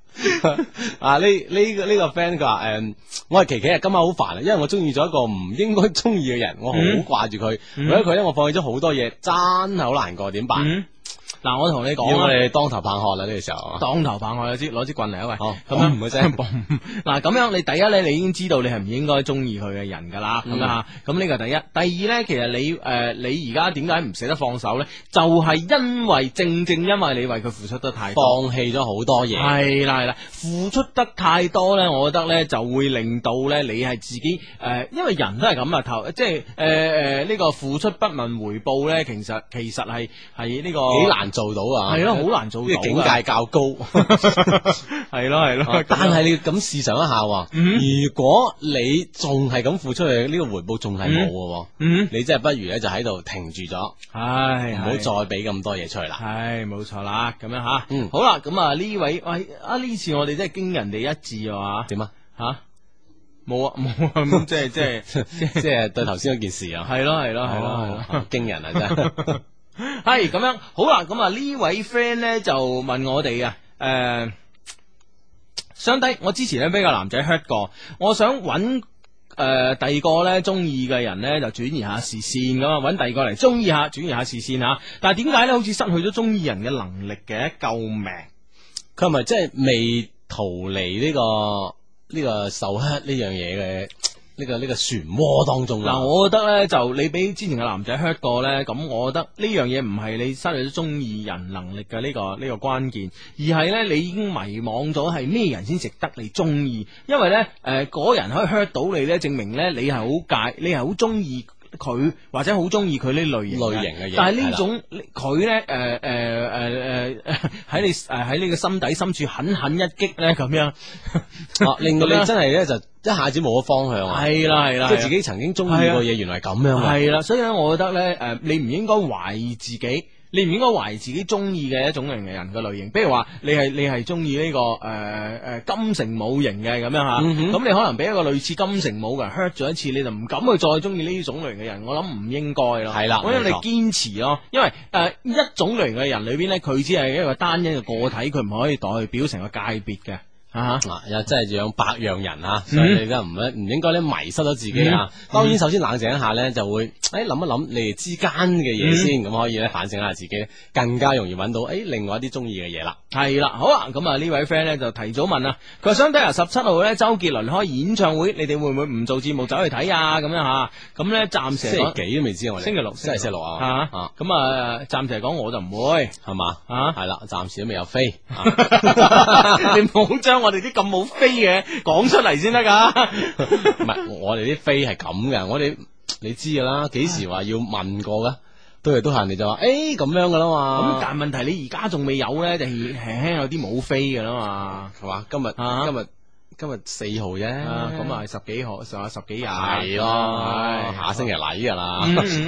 呢個 friend 佢話我係琪琪啊，今晚好煩啊，因為我中意咗一個唔應該中意嘅人，我好掛住佢，為咗佢咧，我放棄咗好多嘢，真係好難過，點辦？ 嗱，我同你講， 要我哋當頭棒喝啦呢個時候， 當頭棒喝，攞支棍嚟啊喂！ 咁樣唔會聲。 嗱，咁樣你第一咧，你已經知道你係唔應該中意佢嘅人噶啦，咁啊，咁呢個第一。第二咧，其實你而家點解唔捨得放手咧？就係因為正因為你為佢付出得太多， 放棄咗好多嘢。 係啦，付出得太多咧，我覺得咧就會令到咧你係自己因為人都係咁啊，即係呢個付出不問回報咧，其實係呢個幾難做到啊， 係咯，好難做到， 呢個境界較高， 係咯， 但係你要咁試想一下，如果你仲係咁付出去，呢個回報仲係冇嘅，你真係不如咧就喺度停住咗，唔好再俾咁多嘢出去啦， 係冇錯啦，咁樣吓，好啦，咁啊呢位喂呢次我哋真係驚人哋一致啊， 點啊吓？冇啊，即係對頭先嗰件事啊， 係咯， 驚人啊真係。 係咁樣，好啦，咁啊呢位 friend 咧就問我哋啊，相低，我之前咧俾個男仔 hurt 過，我想揾第二個咧中意嘅人咧就轉移下視線咁啊，揾第二個嚟中意下，轉移下視線吓，但係點解咧好似失去咗中意人嘅能力嘅？救命！ 佢係咪即係未逃離呢個受 hurt 呢樣嘢嘅？呢個漩渦當中嗱，我覺得咧就你俾之前嘅男仔 hurt 過咧，咁我覺得呢樣嘢唔係你失去咗中意人能力嘅呢個關鍵，而係咧你已經迷惘咗係咩人先值得你中意，因為咧嗰人可以 hurt 到你咧，證明咧你係好中意佢或者好中意佢呢類型嘅嘢，但係呢種佢咧喺你嘅心底深處狠狠一擊咧咁樣， 令到你真係咧就一下子冇咗方向啊！ 係啦， 即係自己曾經中意過嘢，原來咁樣。 係啦，所以咧，我覺得咧，你唔應該懷疑自己。 你唔應該懷疑自己中意嘅一種類型嘅人嘅類型。比如話你係中意呢個金城武型嘅咁樣吓，咁你可能俾一個類似金城武嘅人 hurt 咗一次，你就唔敢去再中意呢種類型嘅人。我諗唔應該咯。 係啦， 我諗你堅持咯，因為一種類型嘅人裏邊咧，佢只係一個單一嘅個體，佢唔可以代表成個界別嘅。 又真係養百樣人啊，所以你真唔應該咧迷失咗自己啊。當然，首先冷靜一下咧，就會諗一諗你哋之間嘅嘢先，咁可以咧反省下自己，更加容易揾到另外一啲中意嘅嘢啦。 係啦，好啊，咁啊呢位 friend 咧就提早問啊，佢話想睇下17號咧周杰倫開演唱會，你哋會唔會唔做節目走去睇啊？咁樣吓，咁咧暫時星期幾都未知我哋， 星期六， 真係星期六啊。 咁啊暫時嚟講我就唔會， 係嘛，係啦，暫時都未有飛。 你唔好將我哋啲咁冇飛嘅講出嚟先得噶。 唔係，我哋啲飛係咁嘅，我哋你知噶啦，幾時話要問過噶？都係人哋就話咁樣噶啦嘛。 咁但係問題你而家仲未有咧，就輕輕有啲冇飛噶啦嘛， 係嘛？今日4號啫， 咁啊10幾號，仲有10幾日係咯，下星期嚟噶啦，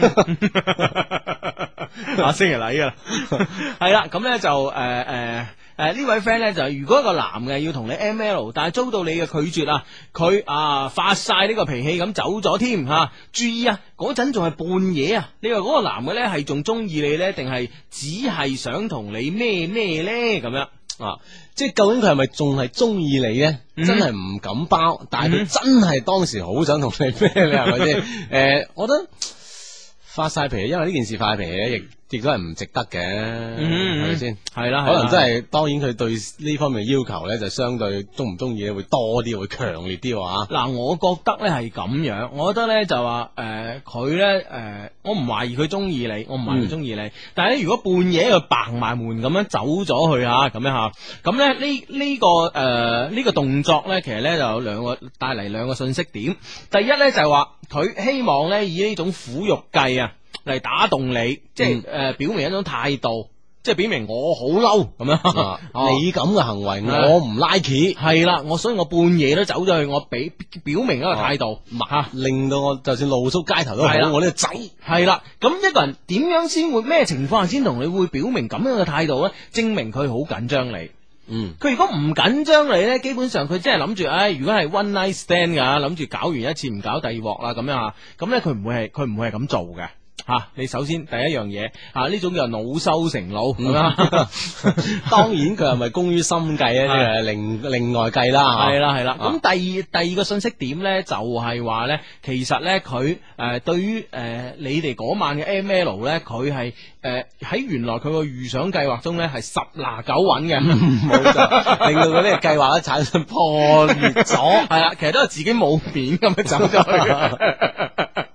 下星期嚟噶啦，係啦，咁咧就呢位 friend 咧就如果一個男嘅要同你 ML， 但係遭到你嘅拒絕啊，佢發晒呢個脾氣咁走咗添吓，注意啊，嗰陣仲係半夜啊，你話嗰個男嘅咧係仲中意你咧，定係只係想同你咩咧咁樣？ 即係究竟佢係咪仲係中意你咧？真係唔敢包，但係佢真係當時好想同你咩咧？係咪先？我覺得發晒脾氣，因為呢件事發脾氣咧，亦都係唔值得嘅，係咪先？ 係啦， 可能真係，當然佢對呢方面嘅要求咧，就相對中唔中意會多啲，會強烈啲喎。 嗱，我覺得咧係咁樣，我覺得咧就話佢咧我唔懷疑佢中意你，我唔懷疑佢中意你，但係咧如果半夜佢掟埋門咁樣走咗去咁樣吓，咁咧呢個動作咧，其實咧就有帶嚟兩個信息點。第一咧就係話佢希望咧以呢種苦肉計嚟打動你，即係表明一種態度，即係表明我好嬲咁樣。 你咁嘅行為我唔 like， 係啦，所以我半夜都走咗去，我表明一個態度， 令到我就算露宿街頭都好，我呢個仔係啦。咁一個人點樣先會咩情況下先同你會表明咁樣嘅態度咧？證明佢好緊張你。佢如果唔緊張你咧，基本上佢真係諗住，如果係 one night stand 噶，諗住搞完一次唔搞第二鑊啦，咁樣啊，咁咧佢唔會係咁做嘅。你首先第一樣嘢呢種叫惱羞成怒咁啊。 當然佢係咪功於心計咧？呢個另外計啦。 係啦。咁第二個信息點咧，就係話咧，其實咧佢對於你哋嗰晚嘅 ML 咧，佢係喺原來佢個預想計劃中咧係10拿9穩嘅， 冇錯，令到佢呢個計劃咧產生破裂咗。 係啦，其實都係自己冇面咁樣走咗去。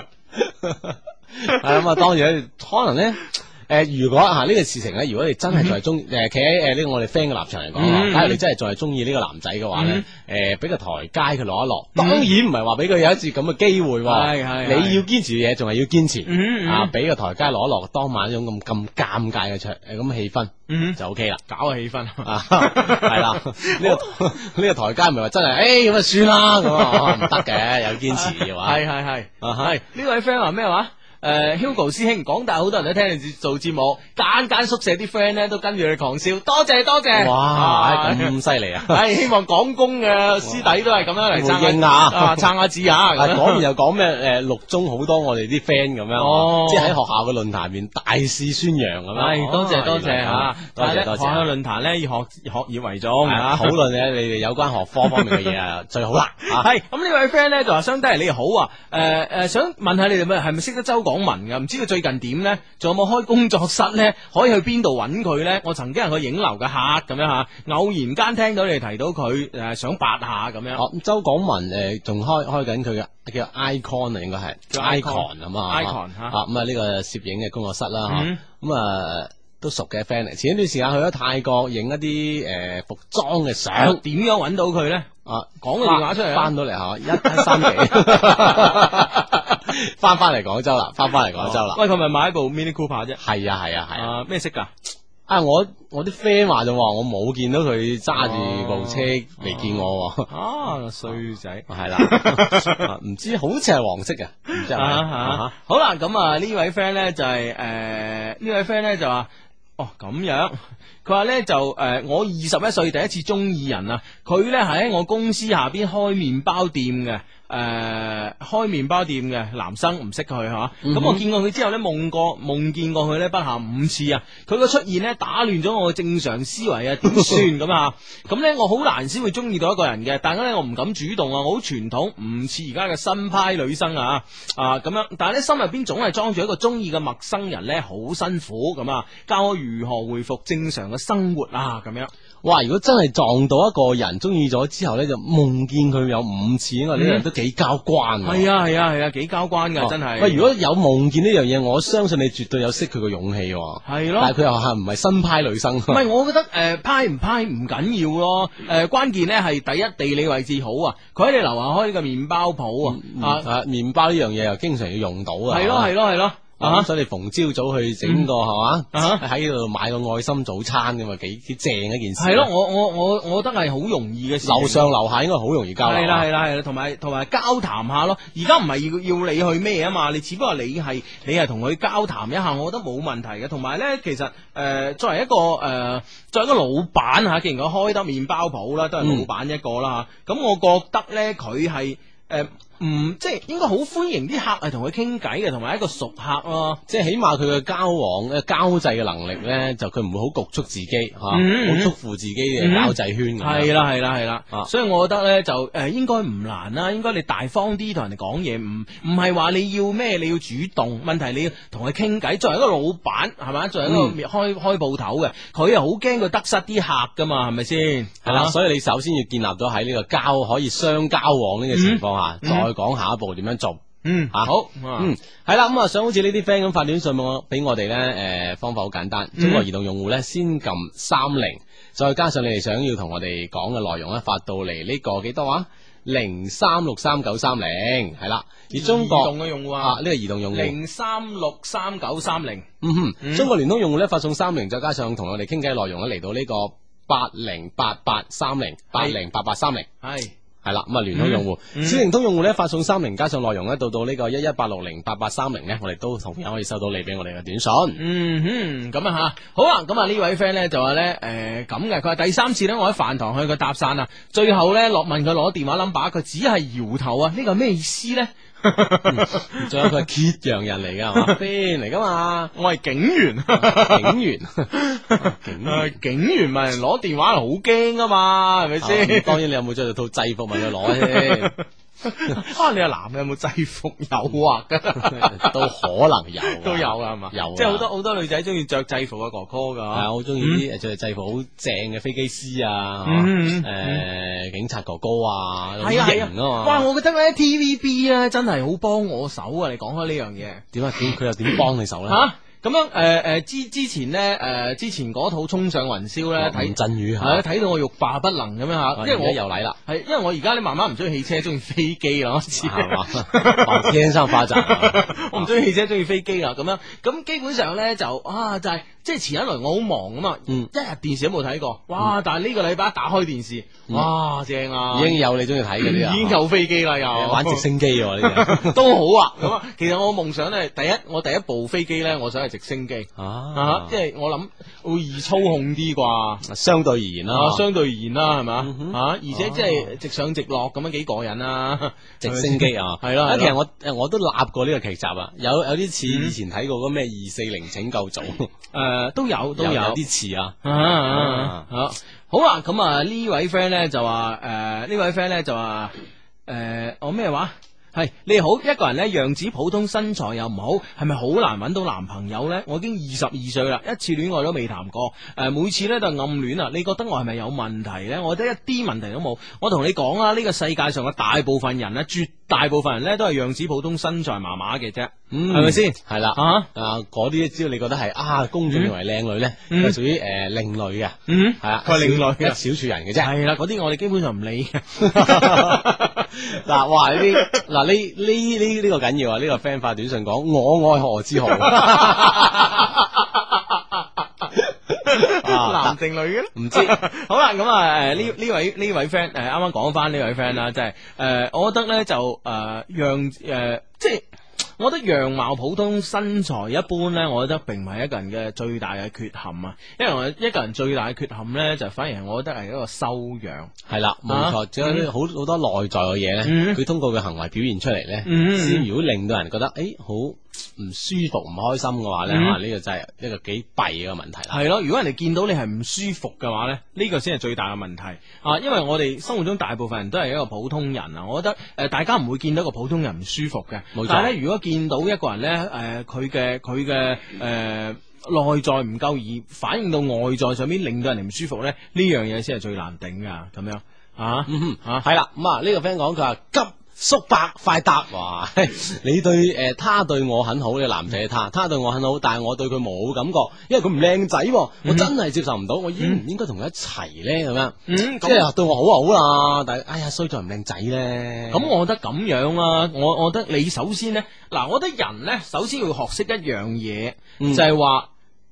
係咁啊，當然可能咧，如果呢個事情咧，如果你真係仲係中，企喺呢個我哋 friend 嘅立場嚟講，假如你真係仲係中意呢個男仔嘅話咧，俾個台階佢落一落，當然唔係話俾佢有一次咁嘅機會，你要堅持嘅嘢仲係要堅持，俾個台階落一落，當晚呢種咁尷尬嘅咁氣氛，就 OK 啦， 搞個氣氛係啦，呢個台階唔係話真係，咁啊算啦，咁唔得嘅，有堅持嘅話， 係呢位 friend 話咩話？Hugo 師兄，廣大好多人都聽你做節目，間宿舍啲 friend 咧都跟住你狂笑，多謝。 哇，咁犀利啊！ 希望廣工嘅師弟都係咁樣嚟撐下字啊！ 講完又講咩？六中好多我哋啲 friend 咁樣，即係喺學校嘅論壇面大肆宣揚咁樣。 多謝吓， 多謝。 學校論壇咧以學業為重， 討論你哋有關學科方面嘅嘢啊，最好啦。 係咁呢位 friend 咧就話相低你哋好啊，想問下你哋係咪識得周廣文噶？唔知佢最近點咧？仲有冇開工作室咧？可以去邊度揾佢咧？我曾經係個影樓嘅客咁樣吓，偶然間聽到你哋提到佢想八下咁樣。 周廣文仲開緊佢嘅叫 Icon 啊，應該係叫 Icon 咁啊。 Icon 吓咁啊呢個攝影嘅工作室啦吓，咁啊都熟嘅 friend 嚟。前一段時間去咗泰國影一啲服裝嘅相， 點樣揾到佢咧？講個電話出嚟， 翻到嚟132。翻嚟廣州啦， 喂，佢咪買一部 Mini Cooper 啫？ 係啊， 咩色噶？ 我啲 friend 話就話我冇見到佢揸住部車嚟見我喎。 啊，衰仔。 係啦，唔知好似係黃色嘅，唔知係咪？ 好啦，咁啊呢位 friend 咧就係呢位 friend 咧就話，哦咁樣，佢話咧就我21歲第一次中意人啊，佢咧係喺我公司下邊開麵包店嘅。開麵包店嘅男生唔識佢吓，咁我見過佢之後呢，夢見過佢呢不下5次啊！佢個出現呢，打亂咗我嘅正常思維啊，點算咁啊？咁呢，我好難先會中意到一個人嘅，但係咧我唔敢主動啊，我好傳統，唔似而家嘅新派女生啊咁樣，但係呢，心入邊總係裝住一個中意嘅陌生人呢，好辛苦咁啊！教我如何回復正常嘅生活啊咁樣。 哇！如果真係撞到一個人中意咗之後呢，就夢見佢有5次，因為呢個人都幾交關。 係啊，幾交關噶，真係。 喂，如果有夢見呢樣嘢，我相信你絕對有識佢嘅勇氣。 係咯， 但係佢又係唔係新派女生？唔係，我覺得派唔派唔緊要咯。關鍵呢係第一，地理位置好啊。佢喺你樓下開呢個麵包鋪啊。 麵包呢樣嘢又經常要用到啊。 係咯。 所以你逢朝早去整個係嘛，喺度買個愛心早餐咁啊，幾正一件事。 係咯，我覺得係好容易嘅事。 樓上樓下應該好容易交流。 係啦，同埋交談下咯。而家唔係要你去咩啊嘛，你只不過你係同佢交談一下，我覺得冇問題嘅。同埋咧，其實作為一個老闆吓，既然佢開得麵包鋪啦，都係老闆一個啦吓。咁我覺得咧，佢係即係應該好歡迎啲客係同佢傾偈嘅，同埋一個熟客咯。 即係起碼佢嘅交往交際嘅能力咧，就佢唔會好局促自己吓，好束縛自己嘅交際圈。 係啦，所以我覺得咧就應該唔難啦。應該你大方啲同人哋講嘢，唔係話你要咩，你要主動。問題你要同佢傾偈。作為一個老闆係咪？作為一個開鋪頭嘅，佢又好驚佢得失啲客噶嘛，係咪先？ 係啦，所以你首先要建立咗喺呢個可以相交往呢個情況下，再講下一步點樣做。 好， 係啦，咁想好似呢啲 friend 咁發短信俾我哋咧，方法好簡單。中國移動用戶咧，先撳30，再加上你哋想要同我哋講嘅內容咧，發到嚟呢個幾多啊？03639330係啦。而中國移動嘅用戶呢個移動用戶 036330。 中國聯通用戶咧，發送30，再加上同我哋傾偈內容咧，嚟到呢個808830，808830係啦。咁聯通用戶，小靈通用戶咧，發送30，加上內容咧，到呢個118608830咧，我哋都同樣可以收到你俾我哋嘅短信。 咁啊吓，好啊。咁啊呢位 friend 咧就話咧咁嘅，佢話第3次咧，我喺飯堂向佢搭訕啊，最後咧問佢攞電話 number， 佢只係搖頭啊，呢個咩意思咧？ 仲有佢係揭陽人嚟噶，係嘛？friend 嚟噶嘛？ 我係警員，警員問人攞電話好驚啊嘛，係咪先？ 當然你有冇着套制服問佢攞先？ 你係男嘅有冇制服誘惑噶？ 都可能有， 都有噶係嘛？有，即係好多女仔中意着制服嘅哥哥噶， 係好中意啲着制服好正嘅飛機師啊，警察哥哥啊，好型啊嘛！ 哇，我覺得咧 TVB 咧真係好幫我手啊！你講開呢樣嘢， 點啊？佢又點幫你手咧？ 咁樣之前咧之前嗰套衝上雲霄咧睇陣雨睇到我欲罷不能咁樣吓，因為我又嚟啦， 係因為我而家咧慢慢唔中意汽車，中意飛機啦， 係嘛？天生化宅， 我唔中意汽車，中意飛機啦，咁樣咁基本上咧就係即係前一輪我好忙啊嘛，一日電視都冇睇過，哇！但係呢個禮拜一打開電視，哇，正啊， 已經有你中意睇嗰啲啊， 已經有飛機啦，又玩直升機喎呢啲都好啊。咁啊，其實我夢想咧，我第一部飛機咧，我想係直升機即係我諗會易操控啲啩， 相對而言啦， 係咪而且即係直上直落咁樣幾過癮啊！ 直升機啊， 係咯。 其實我都立過呢個劇集啊，有啲似以前睇過嗰咩240拯救組， 都有啲似啊。 好啊，咁啊呢位 friend 咧就話我咩話？係你好，一個人呢樣子普通，身材又唔好，係咪好難揾到男朋友呢？我已經22歲啦，一次戀愛都未談過，每次呢都係暗戀啊！你覺得我係咪有問題呢？我覺得一啲問題都冇。我同你講啦，呢個世界上嘅大部分人呢，絕大部分人呢都係樣子普通，身材麻麻嘅啫，係咪先？係啦，嗰啲只要你覺得係公眾認為靚女呢，係屬於另類嘅，係啊， 佢另類嘅一小撮人嘅啫。 係啦，嗰啲我哋基本上唔理嘅。 嗱，哇！呢個緊要啊！呢個 friend 發短信講我愛何之豪， 男定女嘅咧？ 唔知好啦，咁呢位 friend 啱啱講翻呢位 friend 啦，即係我覺得咧就即係。我覺得樣貌普通、身材一般呢，我覺得並唔係一個人嘅最大嘅缺陷啊。因為我一個人最大嘅缺陷呢，就反而係我覺得係一個修養。係啦， 冇錯，仲有好多內在嘅嘢呢，佢通過佢行為表現出嚟呢，先如果令到人覺得好唔舒服、唔開心嘅話呢，呢個真係一個幾弊嘅問題啦。係咯，如果人哋見到你係唔舒服嘅話呢，呢個先係最大嘅問題啊。因為我哋生活中大部分人都係一個普通人啊，我覺得大家唔會見到一個普通人唔舒服嘅。冇錯。但係咧，如果見到一個人咧，佢嘅內在唔夠而反映到外在上面，令到人哋唔舒服咧，呢樣嘢先係最難頂噶。咁樣係啦。咁啊，呢個 friend 講佢話急叔伯快答，哇！你對他對我很好，呢個男仔嘅他對我很好，但係我對佢冇感覺，因為佢唔靚仔，我真係接受唔到，我應唔應該同佢一齊咧？咁樣，即係對我好就好啦，但係哎呀衰在唔靚仔咧。咁我覺得咁樣啦，我覺得你首先咧，嗱，我覺得人咧首先要學識一樣嘢，就係話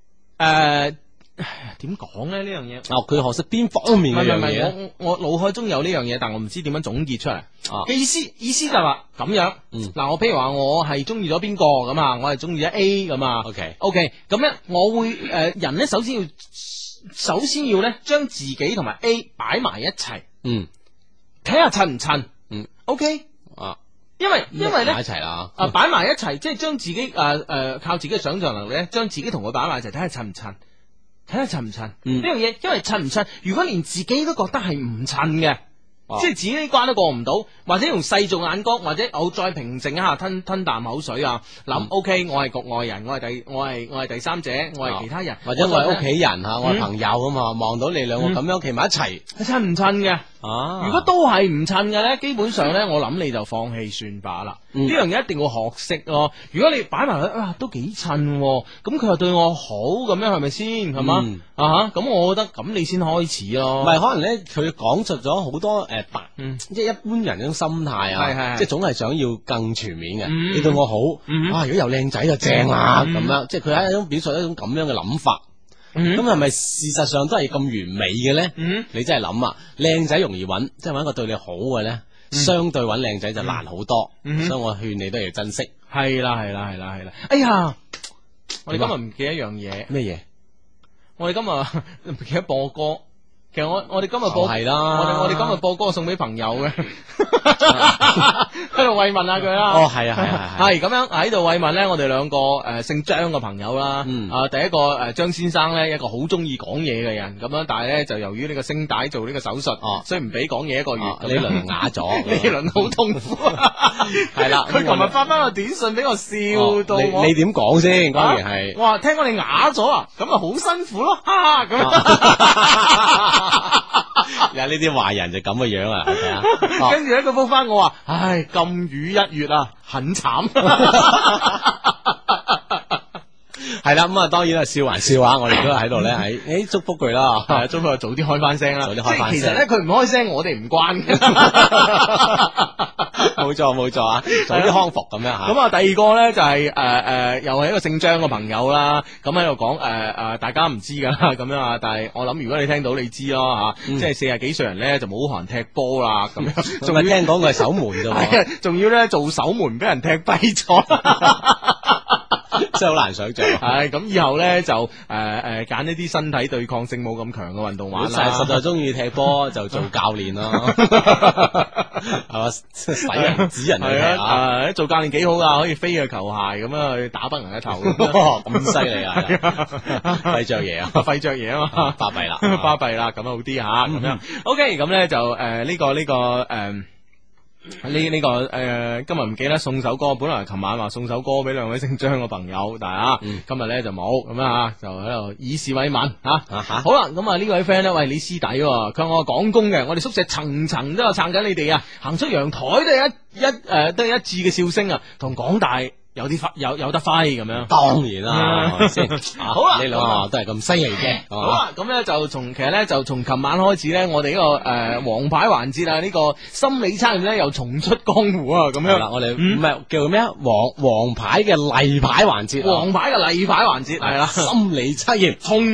點講咧呢樣嘢？佢學識邊方面嘅樣嘢？我腦海中有呢樣嘢，但我唔知點樣總結出嚟。意思就係話咁樣。嗱，我譬如話我係中意咗邊個咁啊，我係中意咗 A 咁啊。OK，咁咧我會人咧首先要咧將自己同埋 A 擺埋一齊。睇下襯唔襯。OK。因為咧擺埋一齊啦。擺埋一齊，即係將自己靠自己嘅想象能力咧，將自己同佢擺埋一齊，睇下襯唔襯。睇下襯唔襯呢樣嘢，因為襯唔襯，如果連自己都覺得係唔襯嘅，即係自己呢關都過唔到，或者用世俗眼光，或者我再平靜一下，吞啖口水啊，諗 OK，我係局外人，我係第三者，我係其他人，或者我係屋企人吓，我係朋友咁啊，望到你兩個咁樣企埋一齊，襯唔襯嘅？如果都係唔襯嘅咧，基本上咧，我諗你就放棄算罷啦。呢樣嘢一定要學識咯。如果你擺埋去，都幾襯，咁佢又對我好，咁樣係咪先？係嘛？咁我覺得咁你先開始咯。唔係，可能咧佢講述咗好多即係一般人嗰種心態啊，即係總係想要更全面嘅。你對我好，如果又靚仔就正啦，咁樣，即係佢係一種表述一種咁樣嘅諗法。咁係咪事實上都係咁完美嘅咧？你真係諗啊，靚仔容易揾，即係揾一個對你好嘅咧，相對揾靚仔就難好多。所以我勸你都要珍惜。係啦。哎呀，我哋今日唔記得一樣嘢。咩嘢？我哋今日唔記得播歌。其實我哋今日播係啦，我哋今日播歌送俾朋友嘅，喺度慰問下佢啦。係咁樣喺度慰問咧，我哋兩個姓張嘅朋友啦。第一個張先生咧，一個好中意講嘢嘅人，咁樣，但係咧就由於呢個聲帶做呢個手術，所以唔俾講嘢一個月。呢輪啞咗，呢輪好痛苦。係啦，佢琴日發翻個短信俾我笑到我。你點講先？當然係。哇，聽講你啞咗啊，咁啊好辛苦咯，咁。有呢啲壞人就咁嘅樣啊！跟住咧佢覆翻我話：唉，禁語1月啊，很慘。係啦，咁啊，當然啦，笑還笑啊！我哋都喺度咧，喺祝福佢啦，祝福佢早啲開翻聲啦。早啲開翻聲。其實咧，佢唔開聲，我哋唔關嘅。冇錯啊！早啲康復咁樣吓。咁啊，第二個咧就係又係一個姓張嘅朋友啦。咁喺度講大家唔知噶啦，咁樣啊。但係我諗，如果你聽到，你知咯吓。即係40幾歲人咧，就冇可能踢波啦。咁樣，仲係聽講佢係守門啫。仲要咧做守門，俾人踢跛咗。真係好難想象。係咁以後咧就揀一啲身體對抗性冇咁強嘅運動玩啦。實在中意踢波就做教練咯，係嘛？使人指人去踢做教練幾好噶，可以飛嘅球鞋咁樣去打崩人嘅頭。咁犀利啊！費着嘢啊，費着嘢啊嘛，巴閉啦，巴閉啦，咁好啲吓咁樣。OK，咁咧就今日唔記得送首歌，本來琴晚話送首歌俾兩位姓張嘅朋友，但係今日咧就冇咁啊，就喺度以示慰問吓。好啦，咁啊呢位 friend 咧，喂，你師弟，佢話我廣工嘅，我哋宿舍層層都有撐緊你哋啊，行出陽台都係一致嘅笑聲啊，同廣大有得揮咁樣。當然啦，係咪先？好啦，呢兩個都係咁犀利嘅。好啦，咁咧就從琴晚開始咧，我哋呢個王牌環節啊，呢個心理測驗咧又重出江湖啊，咁樣。嗱，我哋唔係叫咩啊？王牌嘅例牌環節。王牌嘅例牌環節係啦，心理測驗重出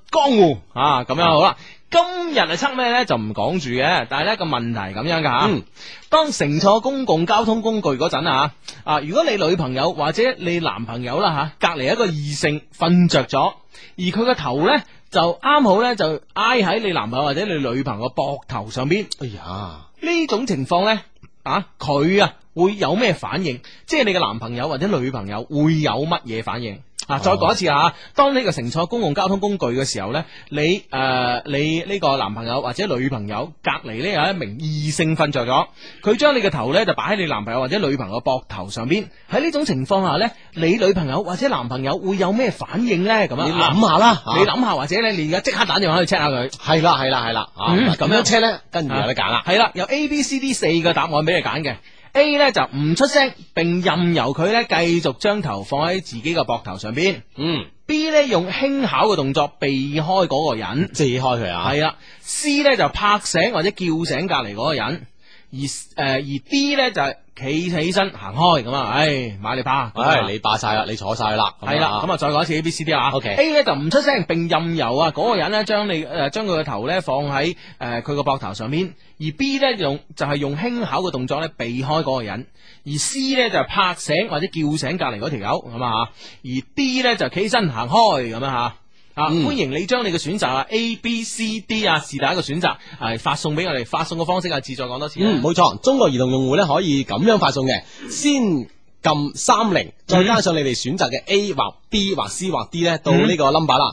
江湖啊，咁樣好啦。今日係測咩呢？就唔講住嘅，但係呢個問題咁樣噶吓。當乘坐公共交通工具嗰陣啊，如果你女朋友或者你男朋友啦吓，隔籬一個異性瞓着咗，而佢個頭呢就啱好呢就挨喺你男朋友或者你女朋友膊頭上邊。 哎呀， 呢種情況呢，佢會有咩反應？即係你嘅男朋友或者女朋友會有乜嘢反應？再講一次啊！當呢個乘坐公共交通工具嘅時候呢，你呢個男朋友或者女朋友隔籬呢有一名異性瞓着咗，佢將你嘅頭呢就擺喺你男朋友或者女朋友膊頭上邊。喺呢種情況下呢，你女朋友或者男朋友會有咩反應呢？咁你諗下啦， 你諗下，或者呢，你而家即刻打電話去 check 下佢。 係啦，咁樣 check 呢，跟住有得揀啦。 係啦，有 A、B、C、D 4個答案俾你揀嘅。A 呢就唔出聲，並任由佢呢繼續將頭放喺自己嘅膊頭上邊。B 呢用輕巧嘅動作避開嗰個人， 遮開佢啊。 係啦。C 呢就拍醒或者叫醒隔籬嗰個人，而 D 呢就企起身行開咁啊！買你怕， 你霸晒啦，你坐晒啦。 係啦，咁再講一次 A、B、C、D 啊。 OK。 A 呢就唔出聲，並任由嗰個人呢將佢個頭呢放喺佢個膊頭上面。而 B 呢就係用輕巧嘅動作呢避開嗰個人，而 C 呢就拍醒或者叫醒隔籬嗰條友咁啊，而 D 呢就企起身行開咁樣吓。歡迎你將你嘅選擇A、B、C、D 是但一個選擇發送俾我哋，發送嘅方式自再講多次。 冇錯，中國移動用戶呢可以咁樣發送嘅，先撳30，再加上你哋選擇嘅 A 或 B 或 C 或 D 呢，到呢個 number 啦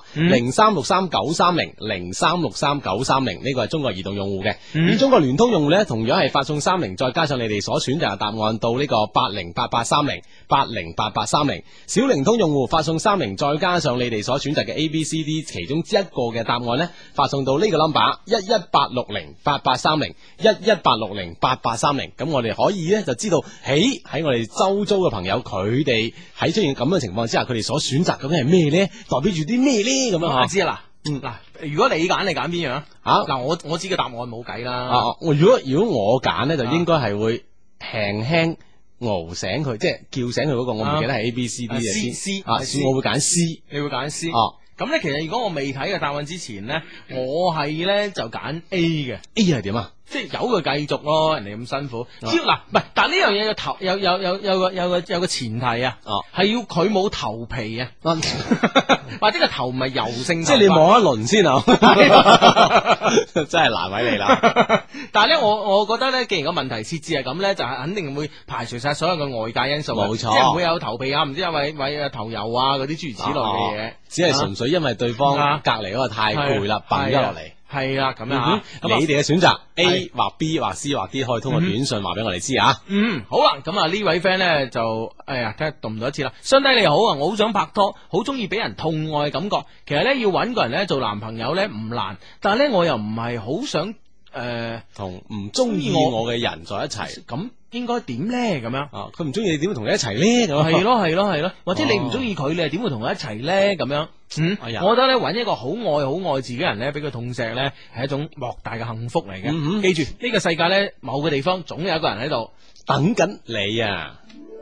，0363930930，0363930930，呢個係中國移動用戶嘅。而中國聯通用戶呢，同樣係發送30，再加上你哋所選擇嘅答案到呢個808830，808830。小靈通用戶發送30，再加上你哋所選擇嘅 A、B、C、D 其中一個嘅答案呢，發送到呢個 number118608830，118608830。咁我哋可以呢就知道，喺我哋周遭嘅朋友，佢哋喺出現咁嘅情況之下，佢哋所選擇究竟係咩咧？代表住啲咩咧？咁樣我知啦。如果你揀邊樣啊？我知個答案冇計啦。 如果我揀咧，就應該係會輕輕熬醒佢，即係叫醒佢嗰個。我唔記得係 A、B、C、D 嘅 C。 我會揀 C。 你會揀 C。咁咧，其實如果我未睇嘅答案之前咧，我係咧就揀 A 嘅。 A 係點啊？ 即係由佢繼續咯，人哋咁辛苦。只要唔係，但呢樣嘢有個前提啊，係要佢冇頭皮啊，或者個頭唔係油性。 即係你望一輪先啊，真係難為你啦。 但係咧，我覺得咧，既然個問題設置係咁咧，就係肯定會排除晒所有嘅外界因素。冇錯，即係唔會有頭皮啊，唔知有為頭油啊嗰啲諸如此類嘅嘢。 只係純粹因為對方隔籬嗰個太攰啦，瞓咗落嚟。 係啦，咁樣你哋嘅選擇 A 或 B 或 C 或 D 可以通過短信話俾我哋知啊。 好啦，咁呢位 friend 咧就睇下讀唔到一次啦。相弟你好啊，我好想拍拖，好中意俾人痛愛嘅感覺。其實咧要搵個人咧做男朋友咧唔難，但係咧我又唔係好想同唔中意我嘅人在一齊。 咁應該點咧？咁樣佢唔中意你點會同你一齊咧？咁係咯，或者你唔中意佢，你係點會同佢一齊咧？咁樣我覺得咧搵一個好愛自己人咧，俾佢痛錫咧，係一種莫大嘅幸福嚟嘅。記住呢個世界咧，某個地方總有一個人喺度等緊你啊！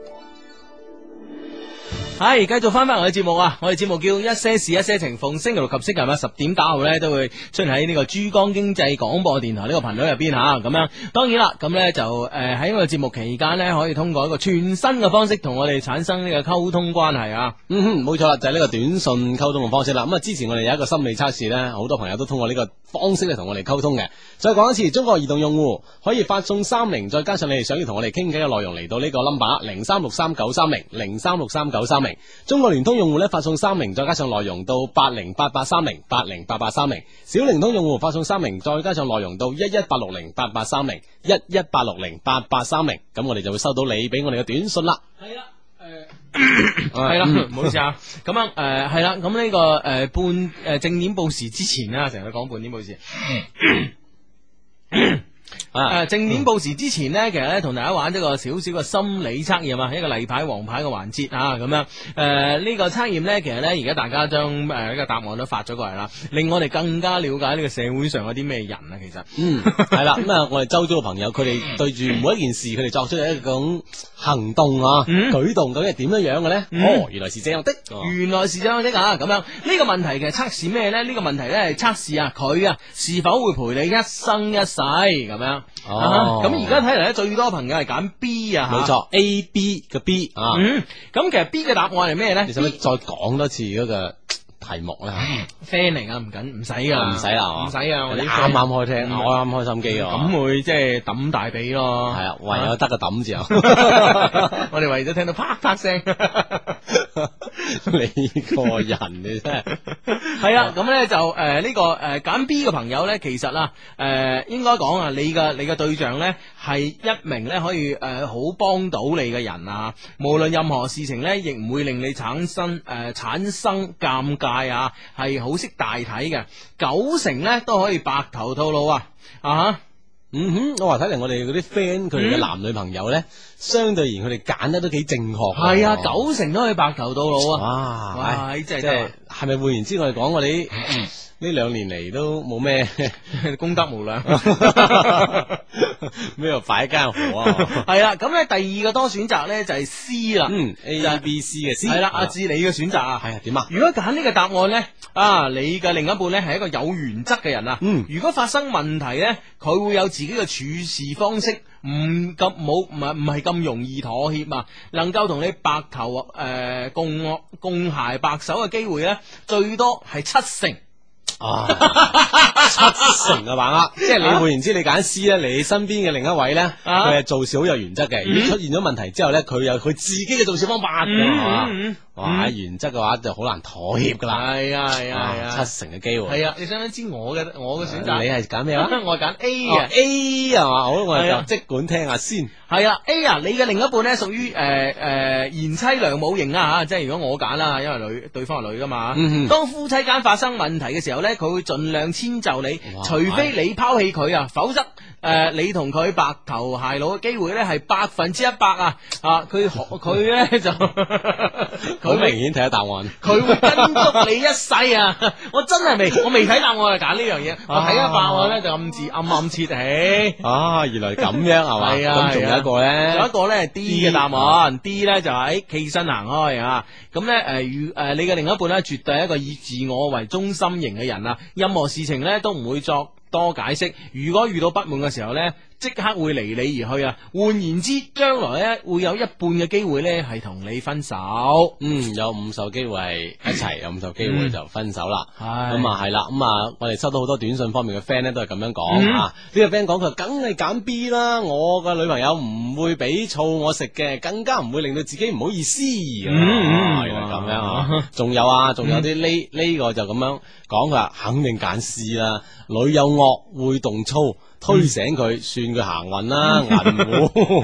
係繼續翻我哋節目啊！我哋節目叫一些事一些情，逢星期六及星期日10點打後咧都會出現喺呢個珠江經濟廣播電台呢個頻道入邊吓，咁樣當然啦，咁咧就喺我哋節目期間咧可以通過一個全新嘅方式同我哋產生呢個溝通關係啊！ 冇錯啦，就係呢個短信溝通嘅方式啦。咁之前我哋有一個心理測試咧，好多朋友都通過呢個方式咧同我哋溝通嘅。再講一次，中國移動用戶可以發送30，再加上你哋想要同我哋傾偈嘅內容嚟到呢個 number 0363930930，036393。中國聯通用戶咧發送30，再加上內容到808830，808830。小靈通用戶發送30，再加上內容到118608830，118608830。咁我哋就會收到你俾我哋嘅短信啦。 係啦，係啦，唔好意思啊。咁樣係啦，咁呢個正點報時之前啦，成日講半點報時。 正面報時之前呢，其實咧同大家玩一個少少嘅心理測驗啊，一個例牌、黃牌嘅環節啊，咁樣呢個測驗呢，其實呢，而家大家將呢個答案都發咗過嚟啦，令我哋更加了解呢個社會上有啲咩人啊，其實係啦，咁啊，我哋周遭嘅朋友，佢哋對住每一件事，佢哋作出一種行動啊、舉動，究竟係點樣樣嘅咧？原來是這樣的， 原來是這樣的啊！咁樣呢個問題其實測試咩咧？呢個問題咧係測試啊佢啊是否會陪你一生一世咁樣。咁而家睇嚟咧，最多朋友係揀 B 啊， 冇錯 A B 嘅 B 啊。 咁其實 B 嘅答案係咩咧？ 你使唔使再講多次嗰個題目咧 ？friend 嚟啊，唔使噶， 唔使啦， 唔使啊！我哋啱啱開聽，啱開心機啊， 咁會即係抌大髀咯。 係啊，唯有得個抌字啊！ 我哋為咗聽到啪啪聲， 你個人你真係係啊！咁咧就呢個揀 B 嘅朋友咧，其實啊應該講啊，你嘅對象咧係一名咧可以好幫到你嘅人啊，無論任何事情咧，亦唔會令你產生尷尬啊，係好識大體嘅，90%咧都可以白頭到老啊！ 我話睇嚟我哋嗰啲 friend 佢哋嘅男女朋友咧，相對而言佢哋揀得都幾正確。 係啊，90%都可以白頭到老啊！ 哇，真係係咪換言之，我哋講我哋呢2年嚟都冇咩功德無量， 咩又擺間河啊？ 係啦，咁咧第二個多選擇咧就係 C 啦 ，A B C 嘅 C 係啦，阿志你嘅選擇啊， 係啊點啊？ 如果揀呢個答案咧，你嘅另一半咧係一個有原則嘅人啊，如果發生問題咧，佢會有自己嘅處事方式，唔係咁容易妥協啊，能夠同你白頭共偕白首嘅機會咧，最多係70%。 70%嘅把握，即係你換言之，你揀 C 咧，你身邊嘅另一位咧，佢係做事好有原則嘅。如果出現咗問題之後咧，佢有佢自己嘅做事方法嘅，係嘛？哇，原則嘅話就好難妥協噶啦。 係啊 ，70%嘅機會。 係啊，你想唔想知我嘅選擇？ 你係揀咩啊？ 我係揀 A 嘅 A 係嘛？好，我哋就即管聽下先。 係啊 A 啊，你嘅另一半咧屬於賢妻良母型啊吓，即係如果我揀啦，因為對方係女噶嘛。當夫妻間發生問題嘅時候咧，佢會盡量遷就你，除非你拋棄佢啊，否則你同佢白頭偕老嘅機會咧係100%啊！佢咧就好明顯睇下答案， 佢會跟足你一世啊！我真係我未睇答案就揀呢樣嘢，我睇咗答案咧就暗切起。 原來咁樣係嘛？ 係啊， 咁仲有一個咧， 仲有一個咧係 D 嘅答案，D 咧就係企身行開啊！咁咧你嘅另一半咧絕對係一個以自我為中心型嘅人啊，任何事情咧都唔會作多解釋，如果遇到不滿嘅時候呢，即刻會離你而去啊！換言之，將來呢會有一半嘅機會呢係同你分手， 有50%機會係一齊，有50%機會就分手啦。咁啊係啦，我哋收到好多短信方面嘅 friend 呢都係咁樣講啊。呢個 friend 講佢梗係揀 B 啦，我嘅女朋友唔會俾醋我食嘅，更加唔會令到自己唔好意思。原來咁樣啊！仲有啲呢個就咁樣講，佢話肯定揀 C 啦，女友惡會動粗，推醒佢，算佢行運啦，銀戶。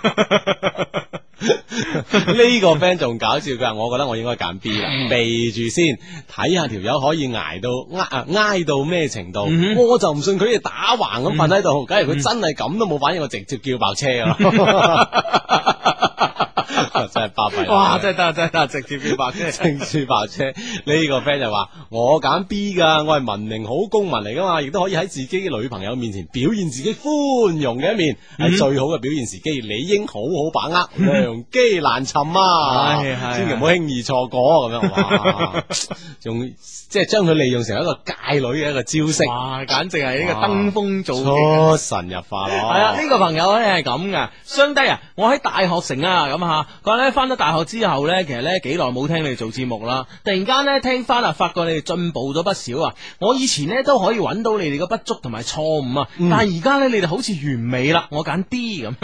呢個 friend 仲搞笑，佢話我覺得我應該揀 B 啦，避住先，睇下條友可以挨到咩程度，我就唔信佢哋打橫咁瞓喺度，假如佢真係咁都冇反應，我直接叫爆車啊！真係巴閉， 哇！真係得，直接叫爆車， 直接爆車。呢個 friend 就話我揀 B 噶，我係文明好公民嚟噶嘛，亦都可以喺自己嘅女朋友面前表現自己寬容嘅一面，係最好嘅表現時機，理應好好把握，良機難尋啊！千祈唔好輕易錯過咁樣，哇！仲即係將佢利用成一個界女嘅一個招式， 哇！簡直係呢個登峰造極， 出神入化咯。係啊，呢個朋友咧係咁噶，相低啊！我喺大學城啊，咁吓，佢話咧翻咗大學之後咧，其實咧幾耐冇聽你哋做節目啦，突然間咧聽翻啊，發覺你哋進步咗不少啊！我以前咧都可以揾到你哋嘅不足同埋錯誤啊，但係而家咧你哋好似完美啦，我揀 D 咁。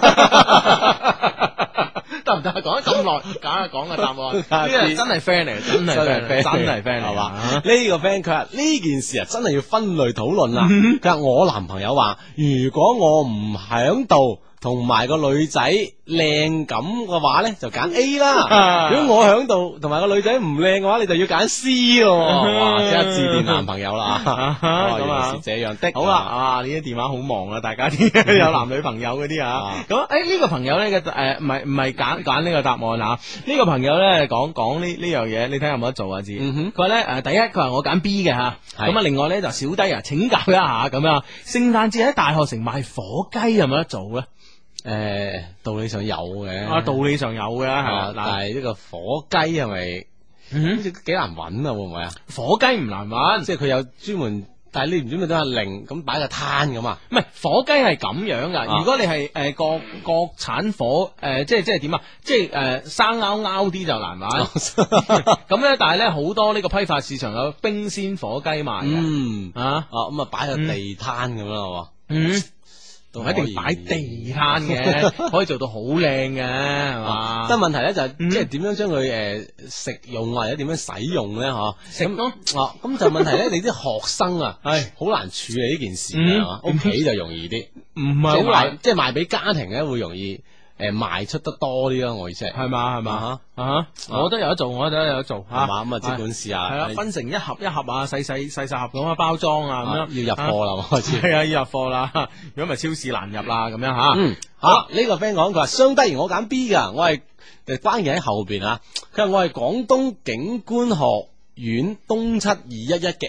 得唔得？講咗咁耐，講個答案，呢個真係 friend 嚟，真係 friend 係嘛？呢個 friend 佢話呢件事啊，真係要分類討論啦。佢話我男朋友話，如果我唔響度， 同埋個女仔靚咁嘅話咧，就揀 A 啦。如果我響度，同埋個女仔唔靚嘅話，你就要揀 C 咯。哇！即刻致電男朋友啦。原來是這樣的。 好啦，啊呢啲電話好忙啊，大家啲有男女朋友嗰啲啊。咁呢個朋友咧嘅唔係揀呢個答案啊。呢個朋友咧講呢樣嘢，你睇下有冇得做啊？知佢話咧第一佢話我揀 B 嘅吓，咁啊另外咧就小弟啊請教一下咁樣，聖誕節喺大學城賣火雞有冇得做咧？ 道理上有嘅， 道理上有嘅係但係呢個火雞係咪好似幾難揾啊？會唔會啊？ 火雞唔難揾， 即係佢有專門，但係你唔知咪都係零咁擺個攤咁啊？ 唔係火雞係咁樣噶，如果你係國產火即係點啊？即係生勾勾啲就難揾。咁咧，但係咧好多呢個批發市場有冰鮮火雞賣嘅。 咁啊擺個地攤咁啦， 唔一定擺地攤嘅，可以做到好靚嘅，係嘛？ 但係問題咧就係即係點樣將佢食用或者點樣使用咧？嗬， 食咯。 咁就問題咧，你啲學生啊，係好難處理呢件事嘅，屋企就容易啲， 唔係好難， 即係賣俾家庭咧會容易賣出得多啲咯。我意思係嘛我都有得做，我都有得做吓， 係嘛？咁啊，即管試下， 係啦，分成一盒一盒啊，細盒咁啊包裝啊，咁樣要入貨啦，開始係啊，要入貨啦，如果唔係超市難入啦，咁樣吓。 好，呢個 friend 講佢話相低，我揀 B 噶，我係關鍵喺後邊啊。佢話我係廣東警官學院東721嘅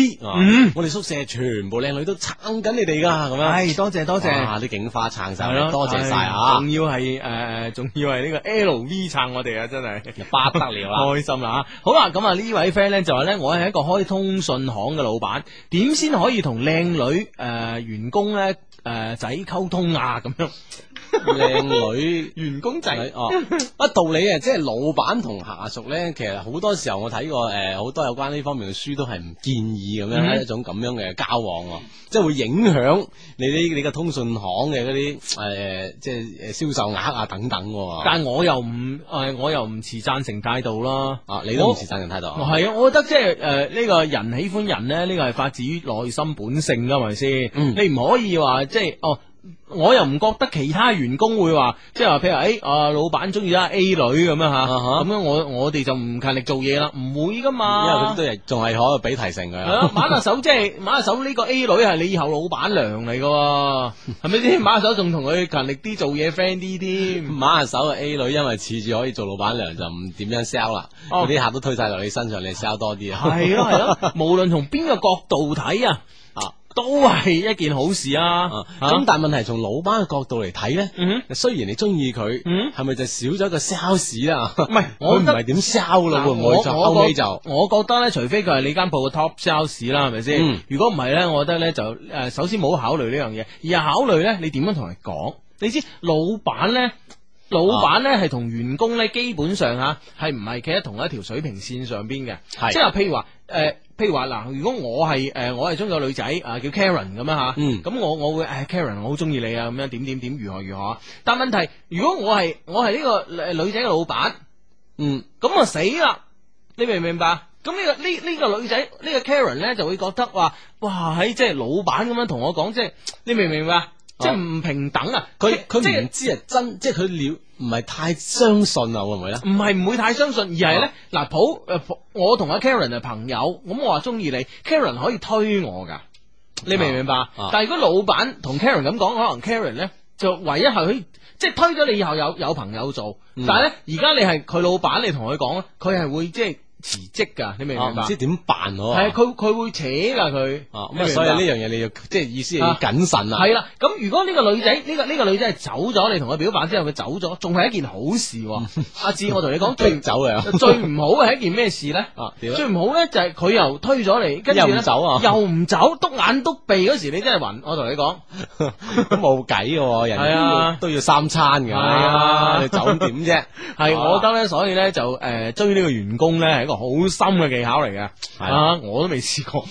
LV，我哋宿舍全部靚女都撐緊你哋噶，咁樣。多謝，啲警花撐晒，多謝晒啊！ 仲要係呢個 LV 撐我哋啊，真係不得了啦， 開心啦！好啦，咁啊呢位 friend 咧就話咧，我係一個開通訊行嘅老闆，點先可以同靚女員工咧仔溝通啊？咁樣。 靚女員工仔道理啊，即係老闆同下屬咧，其實好多時候我睇過好多有關呢方面嘅書都係唔建議咁樣一種咁樣嘅交往，即係會影響你嘅通訊行嘅嗰啲即係銷售額啊等等。 但係我又唔持贊成態度啦。 你都唔持贊成態度？ 係啊，我覺得即係呢個人喜歡人咧，呢個係發自於內心本性噶，係咪先？你唔可以話即係我又唔覺得其他員工會話，即係話譬如老闆中意咗 A 女咁樣吓，咁樣我哋就唔勤力做嘢啦，唔會噶嘛。 因為佢都係仲係可以俾提成佢。 係咯，馬下手即係馬下手呢個 A 女係你以後老闆娘嚟噶，係咪先？馬下手仲同佢勤力啲做嘢 friend 啲添。 馬下手嘅 A 女因為恃住可以做老闆娘就唔點樣 sell 啦，嗰啲客都推晒落你身上，你 sell 多啲啊。 係咯，無論從邊個角度睇啊。都係一件好事啊！ 咁但係問題從老闆嘅角度嚟睇咧，雖然你中意佢，係咪就少咗一個 sales 啦？唔係， 我唔係點 sell 咯，會唔會就後尾就？ 我覺得咧，除非佢係你間鋪嘅 top sales 啦，係咪先？如果唔係咧，我覺得咧就首先冇考慮呢樣嘢，而係考慮咧你點樣同人講。你知老闆咧係同員工咧基本上係唔係企喺同一條水平線上邊嘅？即係話譬如話嗱，如果我係中意個女仔叫 Karen 咁樣吓，咁我會Karen 我好中意你啊，咁樣點如何？但問題如果我係呢個女仔嘅老闆，咁啊死啦！你明唔明白？咁呢個女仔呢個 Karen 咧就會覺得話，哇喺即係老闆咁樣同我講，即係你明唔明白？即係唔平等啊！佢唔知係真，即係佢唔係太相信啊，會唔會咧？ 唔係唔會太相信，而係咧嗱，我同阿 Karen 係朋友，咁我話中意你 ，Karen 可以推我噶，你明唔明白？但係如果老闆同 Karen 咁講，可能 Karen 咧就唯一係可以即係推咗你以後有朋友做，但係咧而家你係佢老闆，你同佢講咧，佢係會即係辭職噶，你明唔明白？ 唔知點辦咯？ 係佢會扯噶佢， 咁所以呢樣嘢你要即係意思係要謹慎啊。 係啦，咁如果呢個女仔呢個女仔係走咗，你同佢表白之後佢走咗，仲係一件好事。阿志，我同你講最走嘅， 最唔好嘅係一件咩事咧？最唔好咧就係佢又推咗你，跟住又唔走啊， 又唔走，篤眼篤鼻嗰時你真係暈。我同你講， 都冇計嘅，人都要三餐嘅，你走點啫？ 係我覺得咧，所以咧就追呢個員工咧係一個好深嘅技巧嚟嘅，我都未試過。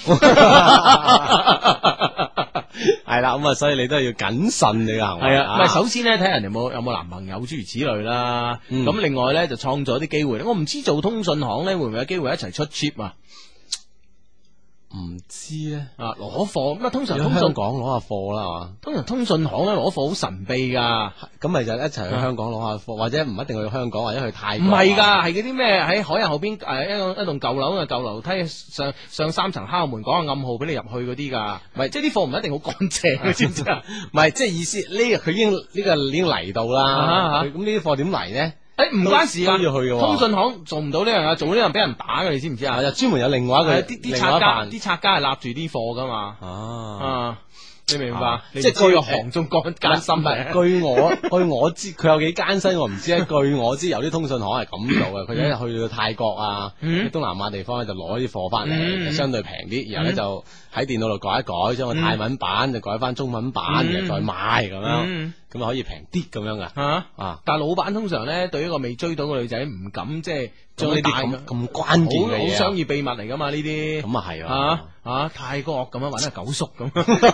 係啦，咁啊，所以你都係要謹慎你嘅行為。 係啊，唔係首先咧睇人哋有冇男朋友諸如此類啦。咁另外咧就創造啲機會。我唔知做通訊行咧會唔會有機會一齊出 trip 啊？ 唔知咧， 攞貨咁啊，通常喺香港攞下貨啦，係嘛？ 通訊行咧攞貨好神秘噶， 咁咪就一齊去香港攞下貨，或者唔一定去香港，或者去泰國。 唔係㗎，係嗰啲咩喺海印後邊一棟舊樓嘅舊樓梯上3層敲門講個暗號俾你入去嗰啲㗎，唔係即係啲貨唔一定好乾淨，你知唔知啊？ 唔係即係意思佢已經嚟到啦，咁呢啲貨點嚟咧？ 唔關事噶， 都要去嘅。 通訊行做唔到呢樣嘢，做呢樣俾人打嘅，你知唔知啊？ 就專門有另外一個啲拆家係立住啲貨噶嘛。你明白？即係據行中艱辛嘅。 據我知，佢有幾艱辛我唔知咧。據我知，有啲通訊行係咁做嘅，佢一去到泰國啊，東南亞地方咧就攞啲貨翻嚟，相對平啲，然後咧就喺電腦度改一改，將個泰文版就改翻中文版，然後再賣咁樣，咁就可以平啲咁樣噶。 但係老闆通常咧對一個未追到嘅女仔唔敢即係將呢啲咁關鍵嘅嘢， 好商業秘密嚟噶嘛呢啲。 咁啊係泰國咁樣揾阿九叔咁，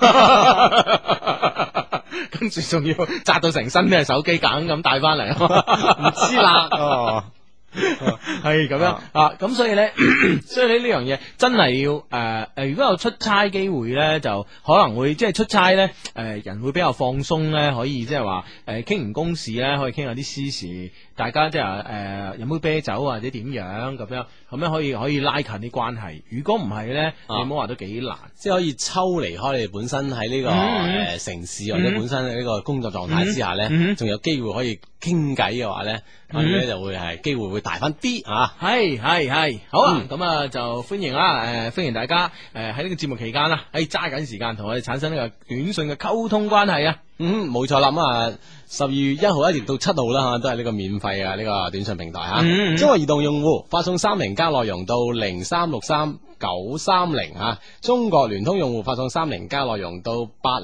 跟住仲要紮到成身咩手機梗咁帶翻嚟，唔知啦。係咁樣咁所以咧，呢樣嘢真係要如果有出差機會咧，就可能會即係出差咧，人會比較放鬆咧，可以即係話傾唔公事咧，可以傾下啲私事，大家即係飲杯啤酒或者點樣咁樣可以拉近啲關係。如果唔係咧，你唔好話都幾難， 即係可以抽離開你本身喺呢個城市或者本身呢個工作狀態之下咧，仲有機會可以傾偈嘅話咧，咁咧就會係機會會大翻啲啊！ 係好啊！咁啊就歡迎啦，歡迎大家喺呢個節目期間啦，揸緊時間同我哋產生呢個短信嘅溝通關係啊！ 冇錯啦，咁啊12月1號一直到7號啦，都係呢個免費嘅呢個短信平台吓。中國移動用戶發送30加內容到0363930中國聯通用戶發送30加內容到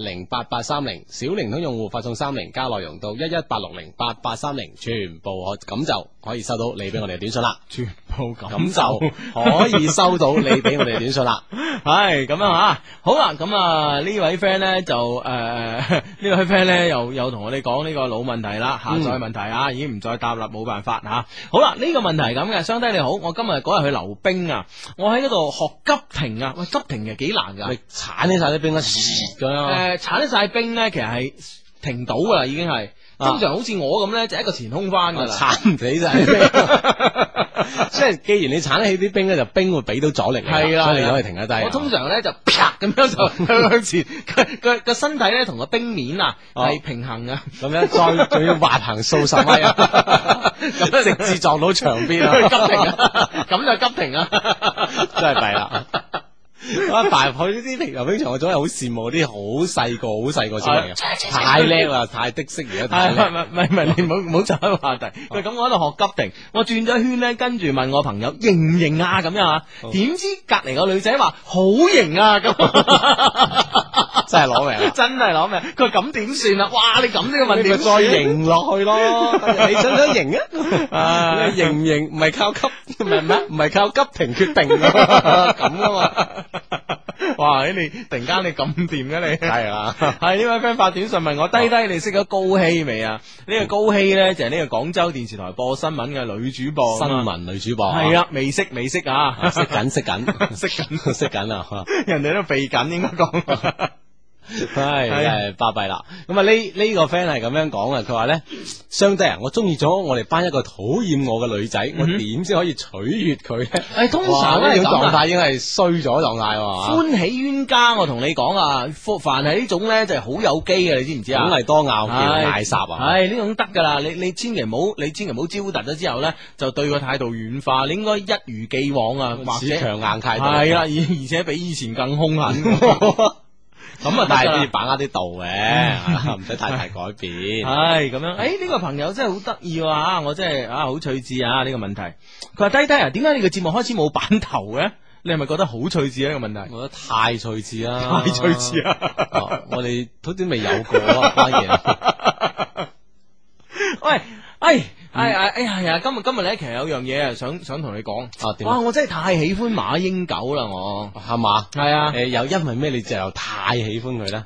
808830，小靈通用戶發送30加內容到118608830，全部咁就可以收到你俾我哋嘅短信啦。 全部咁就可以收到你俾我哋嘅短信啦。 係咁樣吓，好啦，咁呢位 friend 咧就呢位 friend 咧又同我哋講呢個老問題啦，下載問題已經唔再答啦，冇辦法吓。好啦，呢個問題係咁嘅，相低你好，我今日嗰日去溜冰啊，我喺嗰度學急停啊，喂，急停其實幾難噶， 你鏟起晒啲冰啦，咁樣鏟起晒冰咧，其實係停到噶啦，已經係。通常好似我咁咧，就一個前空翻噶啦， 鏟唔起晒啲冰。即係既然你鏟得起啲冰咧，就冰會俾到阻力你，係啦，所以你可以停得低。 我通常咧就啪咁樣就向前，個身體咧同個冰面係平衡嘅， 咁樣再仲要滑行數十米咁直至撞到牆邊啊！ 急停啊！咁就急停啊！ 真係弊啦。大入去呢啲溜冰場，我總係好羨慕啲好細個先嚟嘅，太叻啦，太的識而家太叻。 唔係，你唔好走開話題。喂，咁我喺度學急停，我轉咗圈咧，跟住問我朋友型唔型啊咁樣啊，點知隔籬個女仔話好型啊咁， 真係攞命， 真係攞命。佢話咁點算啊？哇，你咁呢個問題， 你再型落去咯。你想唔想型啊？你型唔型唔係靠唔係靠急停決定咁啊嘛。 哇！你突然間你咁掂嘅你係啊， 係呢位 friend 發短信問我低，你識咗高希未啊？呢個高希咧就係呢個廣州電視台播新聞嘅女主播， 新聞女主播係啊，未識啊， 識緊啊， 人哋都避緊應該講。 係巴閉啦，咁啊呢個 friend 係咁樣講嘅，佢話咧，相弟啊，我中意咗我哋班一個討厭我嘅女仔，我點先可以取悅佢咧？ 通常呢種狀態已經係衰咗狀態， 歡喜冤家，我同你講啊，凡係呢種咧就係好有機嘅，你知唔知啊？ 梗係多拗撬嗌霎啊！ 係呢種得噶啦，你千祈唔好招突咗之後咧，就對個態度軟化，你應該一如既往啊，或者強硬態度， 係啦，而且比以前更兇狠。咁啊， 但係都要把握啲度嘅，唔使太大改變。 係咁樣，呢個朋友真係好得意啊！我真係好趣致啊！呢個問題，佢話低啊，點解你個節目開始冇版頭嘅？你係咪覺得好趣致呢個問題？ 我覺得太趣致啦， 太趣致啊！ 我哋好似未有過啊，關鍵。 喂，係啊！今日咧，其實有樣嘢想同你講。哇！我真係太喜歡馬英九啦，我係嘛？ 係啊。 又因為咩？你就又太喜歡佢咧？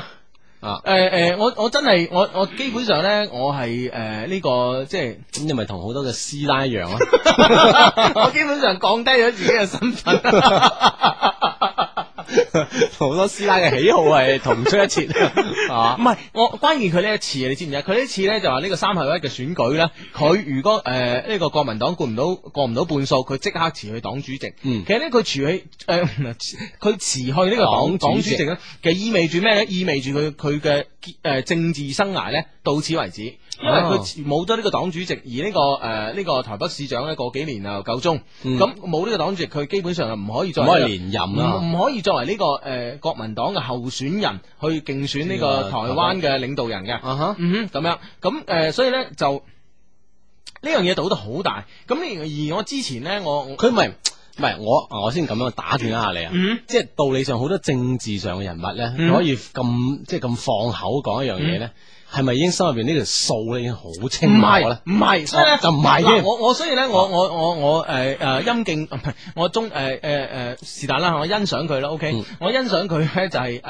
我真係我基本上咧，我係呢個即係咁，你咪同好多嘅師奶一樣咯。 我基本上降低咗自己嘅身份。 好多師奶嘅喜好係同出一轍，係嘛唔？係，我關鍵佢呢一次你知唔知啊？佢呢一次咧就話呢個3合1嘅選舉咧，佢如果呢個國民黨過唔到半數，佢即刻辭去黨主席。 嗯其實咧佢佢辭去呢個黨主席咧，其實意味住咩咧？意味住佢嘅政治生涯咧到此為止，因為佢冇咗呢個黨主席，而呢個台北市長咧過幾年又夠鐘，咁冇呢個黨主席，佢基本上就唔可以再唔可以連任啦， 唔可以作為呢個國民黨嘅候選人去競選呢個台灣嘅領導人嘅，咁樣咁所以咧就呢樣嘢賭得好大，咁而我之前咧佢唔係我先咁樣打斷一下你啊，即係道理上好多政治上嘅人物咧，佢可以咁放口講一樣嘢咧，係咪已經心入邊呢條數咧已經好清楚咧？ 唔係，所以咧就唔係嘅。 我所以咧我陰敬唔係我中是但啦，我欣賞佢啦。OK，我欣賞佢咧就係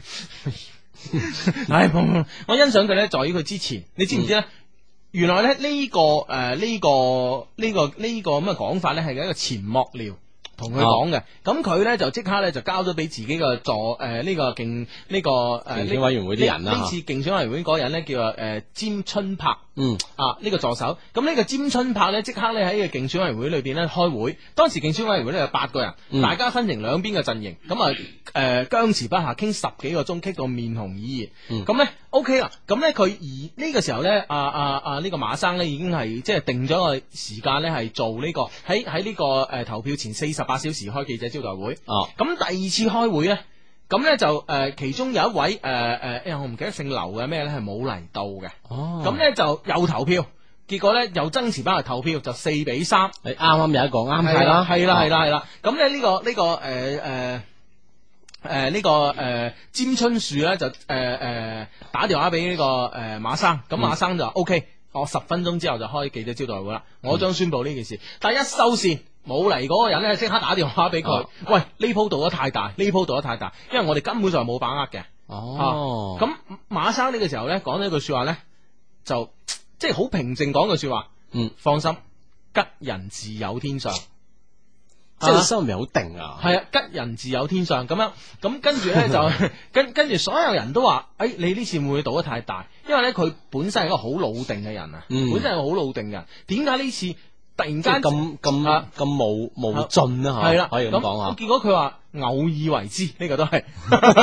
我欣賞佢咧在於佢之前，你知唔知咧？原來咧呢個咁嘅講法咧係一個前幕僚同佢講嘅，咁佢咧就即刻咧就交咗俾自己嘅競選委員會啲人啦。 呢次競選委員會嗰個人咧叫詹春柏，呢個助手。咁呢個詹春柏咧即刻咧喺個競選委員會裏邊咧開會。當時競選委員會咧有8個人，大家分成兩邊嘅陣營，咁僵持不下，傾10幾個鐘，傾到面紅耳熱。咁咧 OK 啦，咁咧佢而呢個時候咧，呢個馬生咧已經係即係定咗個時間咧，係做呢個喺呢個投票前48小時開記者招待會。咁第二次開會咧，咁咧就其中有一位我唔記得姓劉嘅咩咧係冇嚟到嘅。咁咧就又投票，結果咧又爭持翻嚟投票，就4-3。 你啱啱有一個啱睇啦， 係啦。咁咧呢個詹春樹咧就打電話俾呢個馬生，咁馬生就話 OK，我10分鐘之後就開記者招待會啦，我將宣布呢件事。但係一收線冇嚟嗰個人咧，即刻打電話俾佢，喂，呢鋪賭得太大，因為我哋根本上冇把握嘅。咁馬生呢個時候咧講咗一句說話咧，就即係好平靜講句說話，放心，吉人自有天相。 即係心入面好定啊， 係啊，吉人自有天相咁樣，咁跟住咧就跟住所有人都話，你呢次會唔會賭得太大？因為咧佢本身係一個好老定嘅人啊，本身係一個好老定嘅人，點解呢次突然間咁無盡啊？係啦，可以咁講啊。 結果佢話偶爾為之，呢個都係。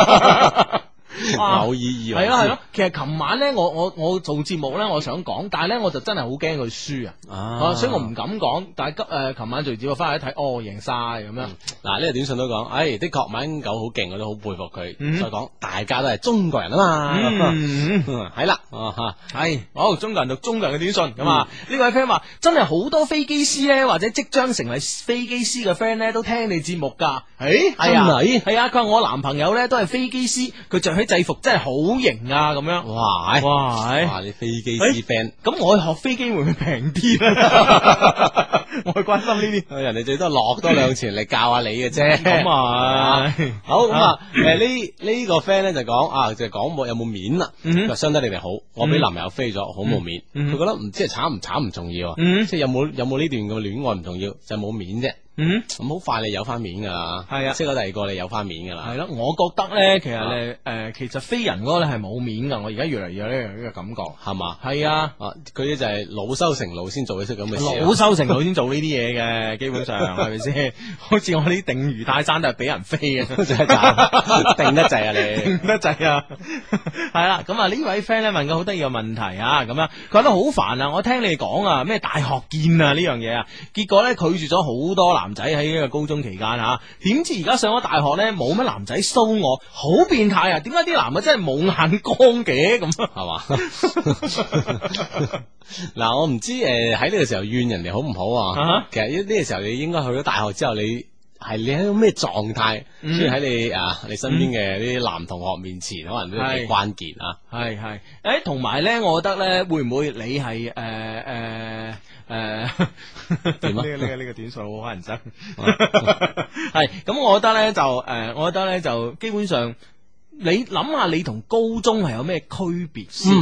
偶爾以為係咯，其實琴晚咧，我做節目咧，我想講，但係咧我就真係好驚佢輸啊，所以我唔敢講。但係琴晚隨住我翻去一睇，贏晒咁樣。 嗱，呢個短信都講，的確馬英九好勁，我都好佩服佢。再講，大家都係中國人啊嘛，係啦， 係好中國人讀中國人嘅短信咁啊。呢位 friend 話真係好多飛機師咧，或者即將成為飛機師嘅 friend 咧，都聽你節目噶。係啊，佢話我男朋友咧都係飛機師，佢着起制服真係好型啊！咁樣， 哇！你飛機師 friend， 咁我去學飛機會唔會平啲咧？我去關心呢啲， 人哋最多落多2錢嚟教下你嘅啫。 咁啊， 好咁啊，呢個 friend 咧就講就係講有冇面啦。佢話相得你哋好，我俾男朋友飛咗，好冇面。佢覺得唔知係慘唔慘唔重要，即係有冇呢段嘅戀愛唔重要，就係冇面啫。咁好快你有翻面噶啦，係啊，識咗第二個你有翻面噶啦， 係咯。我覺得咧，其實其實飛人嗰個咧係冇面噶。我而家越嚟越有呢個感覺，係嘛？係啊， 佢啲就係老羞成怒先做得出咁嘅事， 老羞成怒先做呢啲嘢嘅，基本上係咪先？好似我呢啲定魚泰山都係俾人飛嘅，真係定得滯啊你， 定得滯啊！係啦，咁啊呢位 friend 咧問個好得意嘅問題啊，咁樣佢覺得好煩啊！我聽你哋講啊，咩大學見啊呢樣嘢啊，結果咧拒絕咗好多男仔喺呢個高中期間吓，點知而家上咗大學咧冇乜男仔騷我，好變態啊！點解啲男嘅真係冇眼光嘅咁係嘛？ 嗱，我唔知喺呢個時候怨人哋好唔好啊？其實呢個時候你應該去咗大學之後，你喺個咩狀態？所以喺你身邊嘅啲男同學面前，可能都幾關鍵啊！係， 同埋咧，我覺得咧，會唔會你係點啊？呢個短信好乞人憎。係咁，我覺得咧就基本上，你諗下，你同高中係有咩區別先？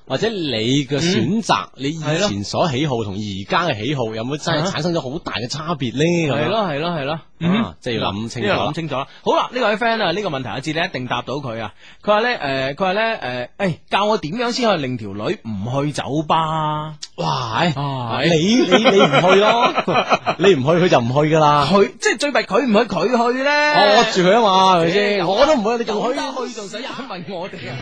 或者你嘅選擇，你以前所喜好同而家嘅喜好有冇真係產生咗好大嘅差別咧？ 係咯係咯係咯， 即係要諗清楚， 呢個諗清楚啦。好啦，呢位 friend 啊，呢個問題阿志你一定答到佢啊。佢話咧，教我點樣先可以令條女唔去酒吧？ 哇！你唔去咯，你唔去佢就唔去噶啦。 佢即係最弊，佢唔去佢去咧， 我住佢啊嘛，係咪先？我都唔去，你仲去？ 去仲使問我哋啊？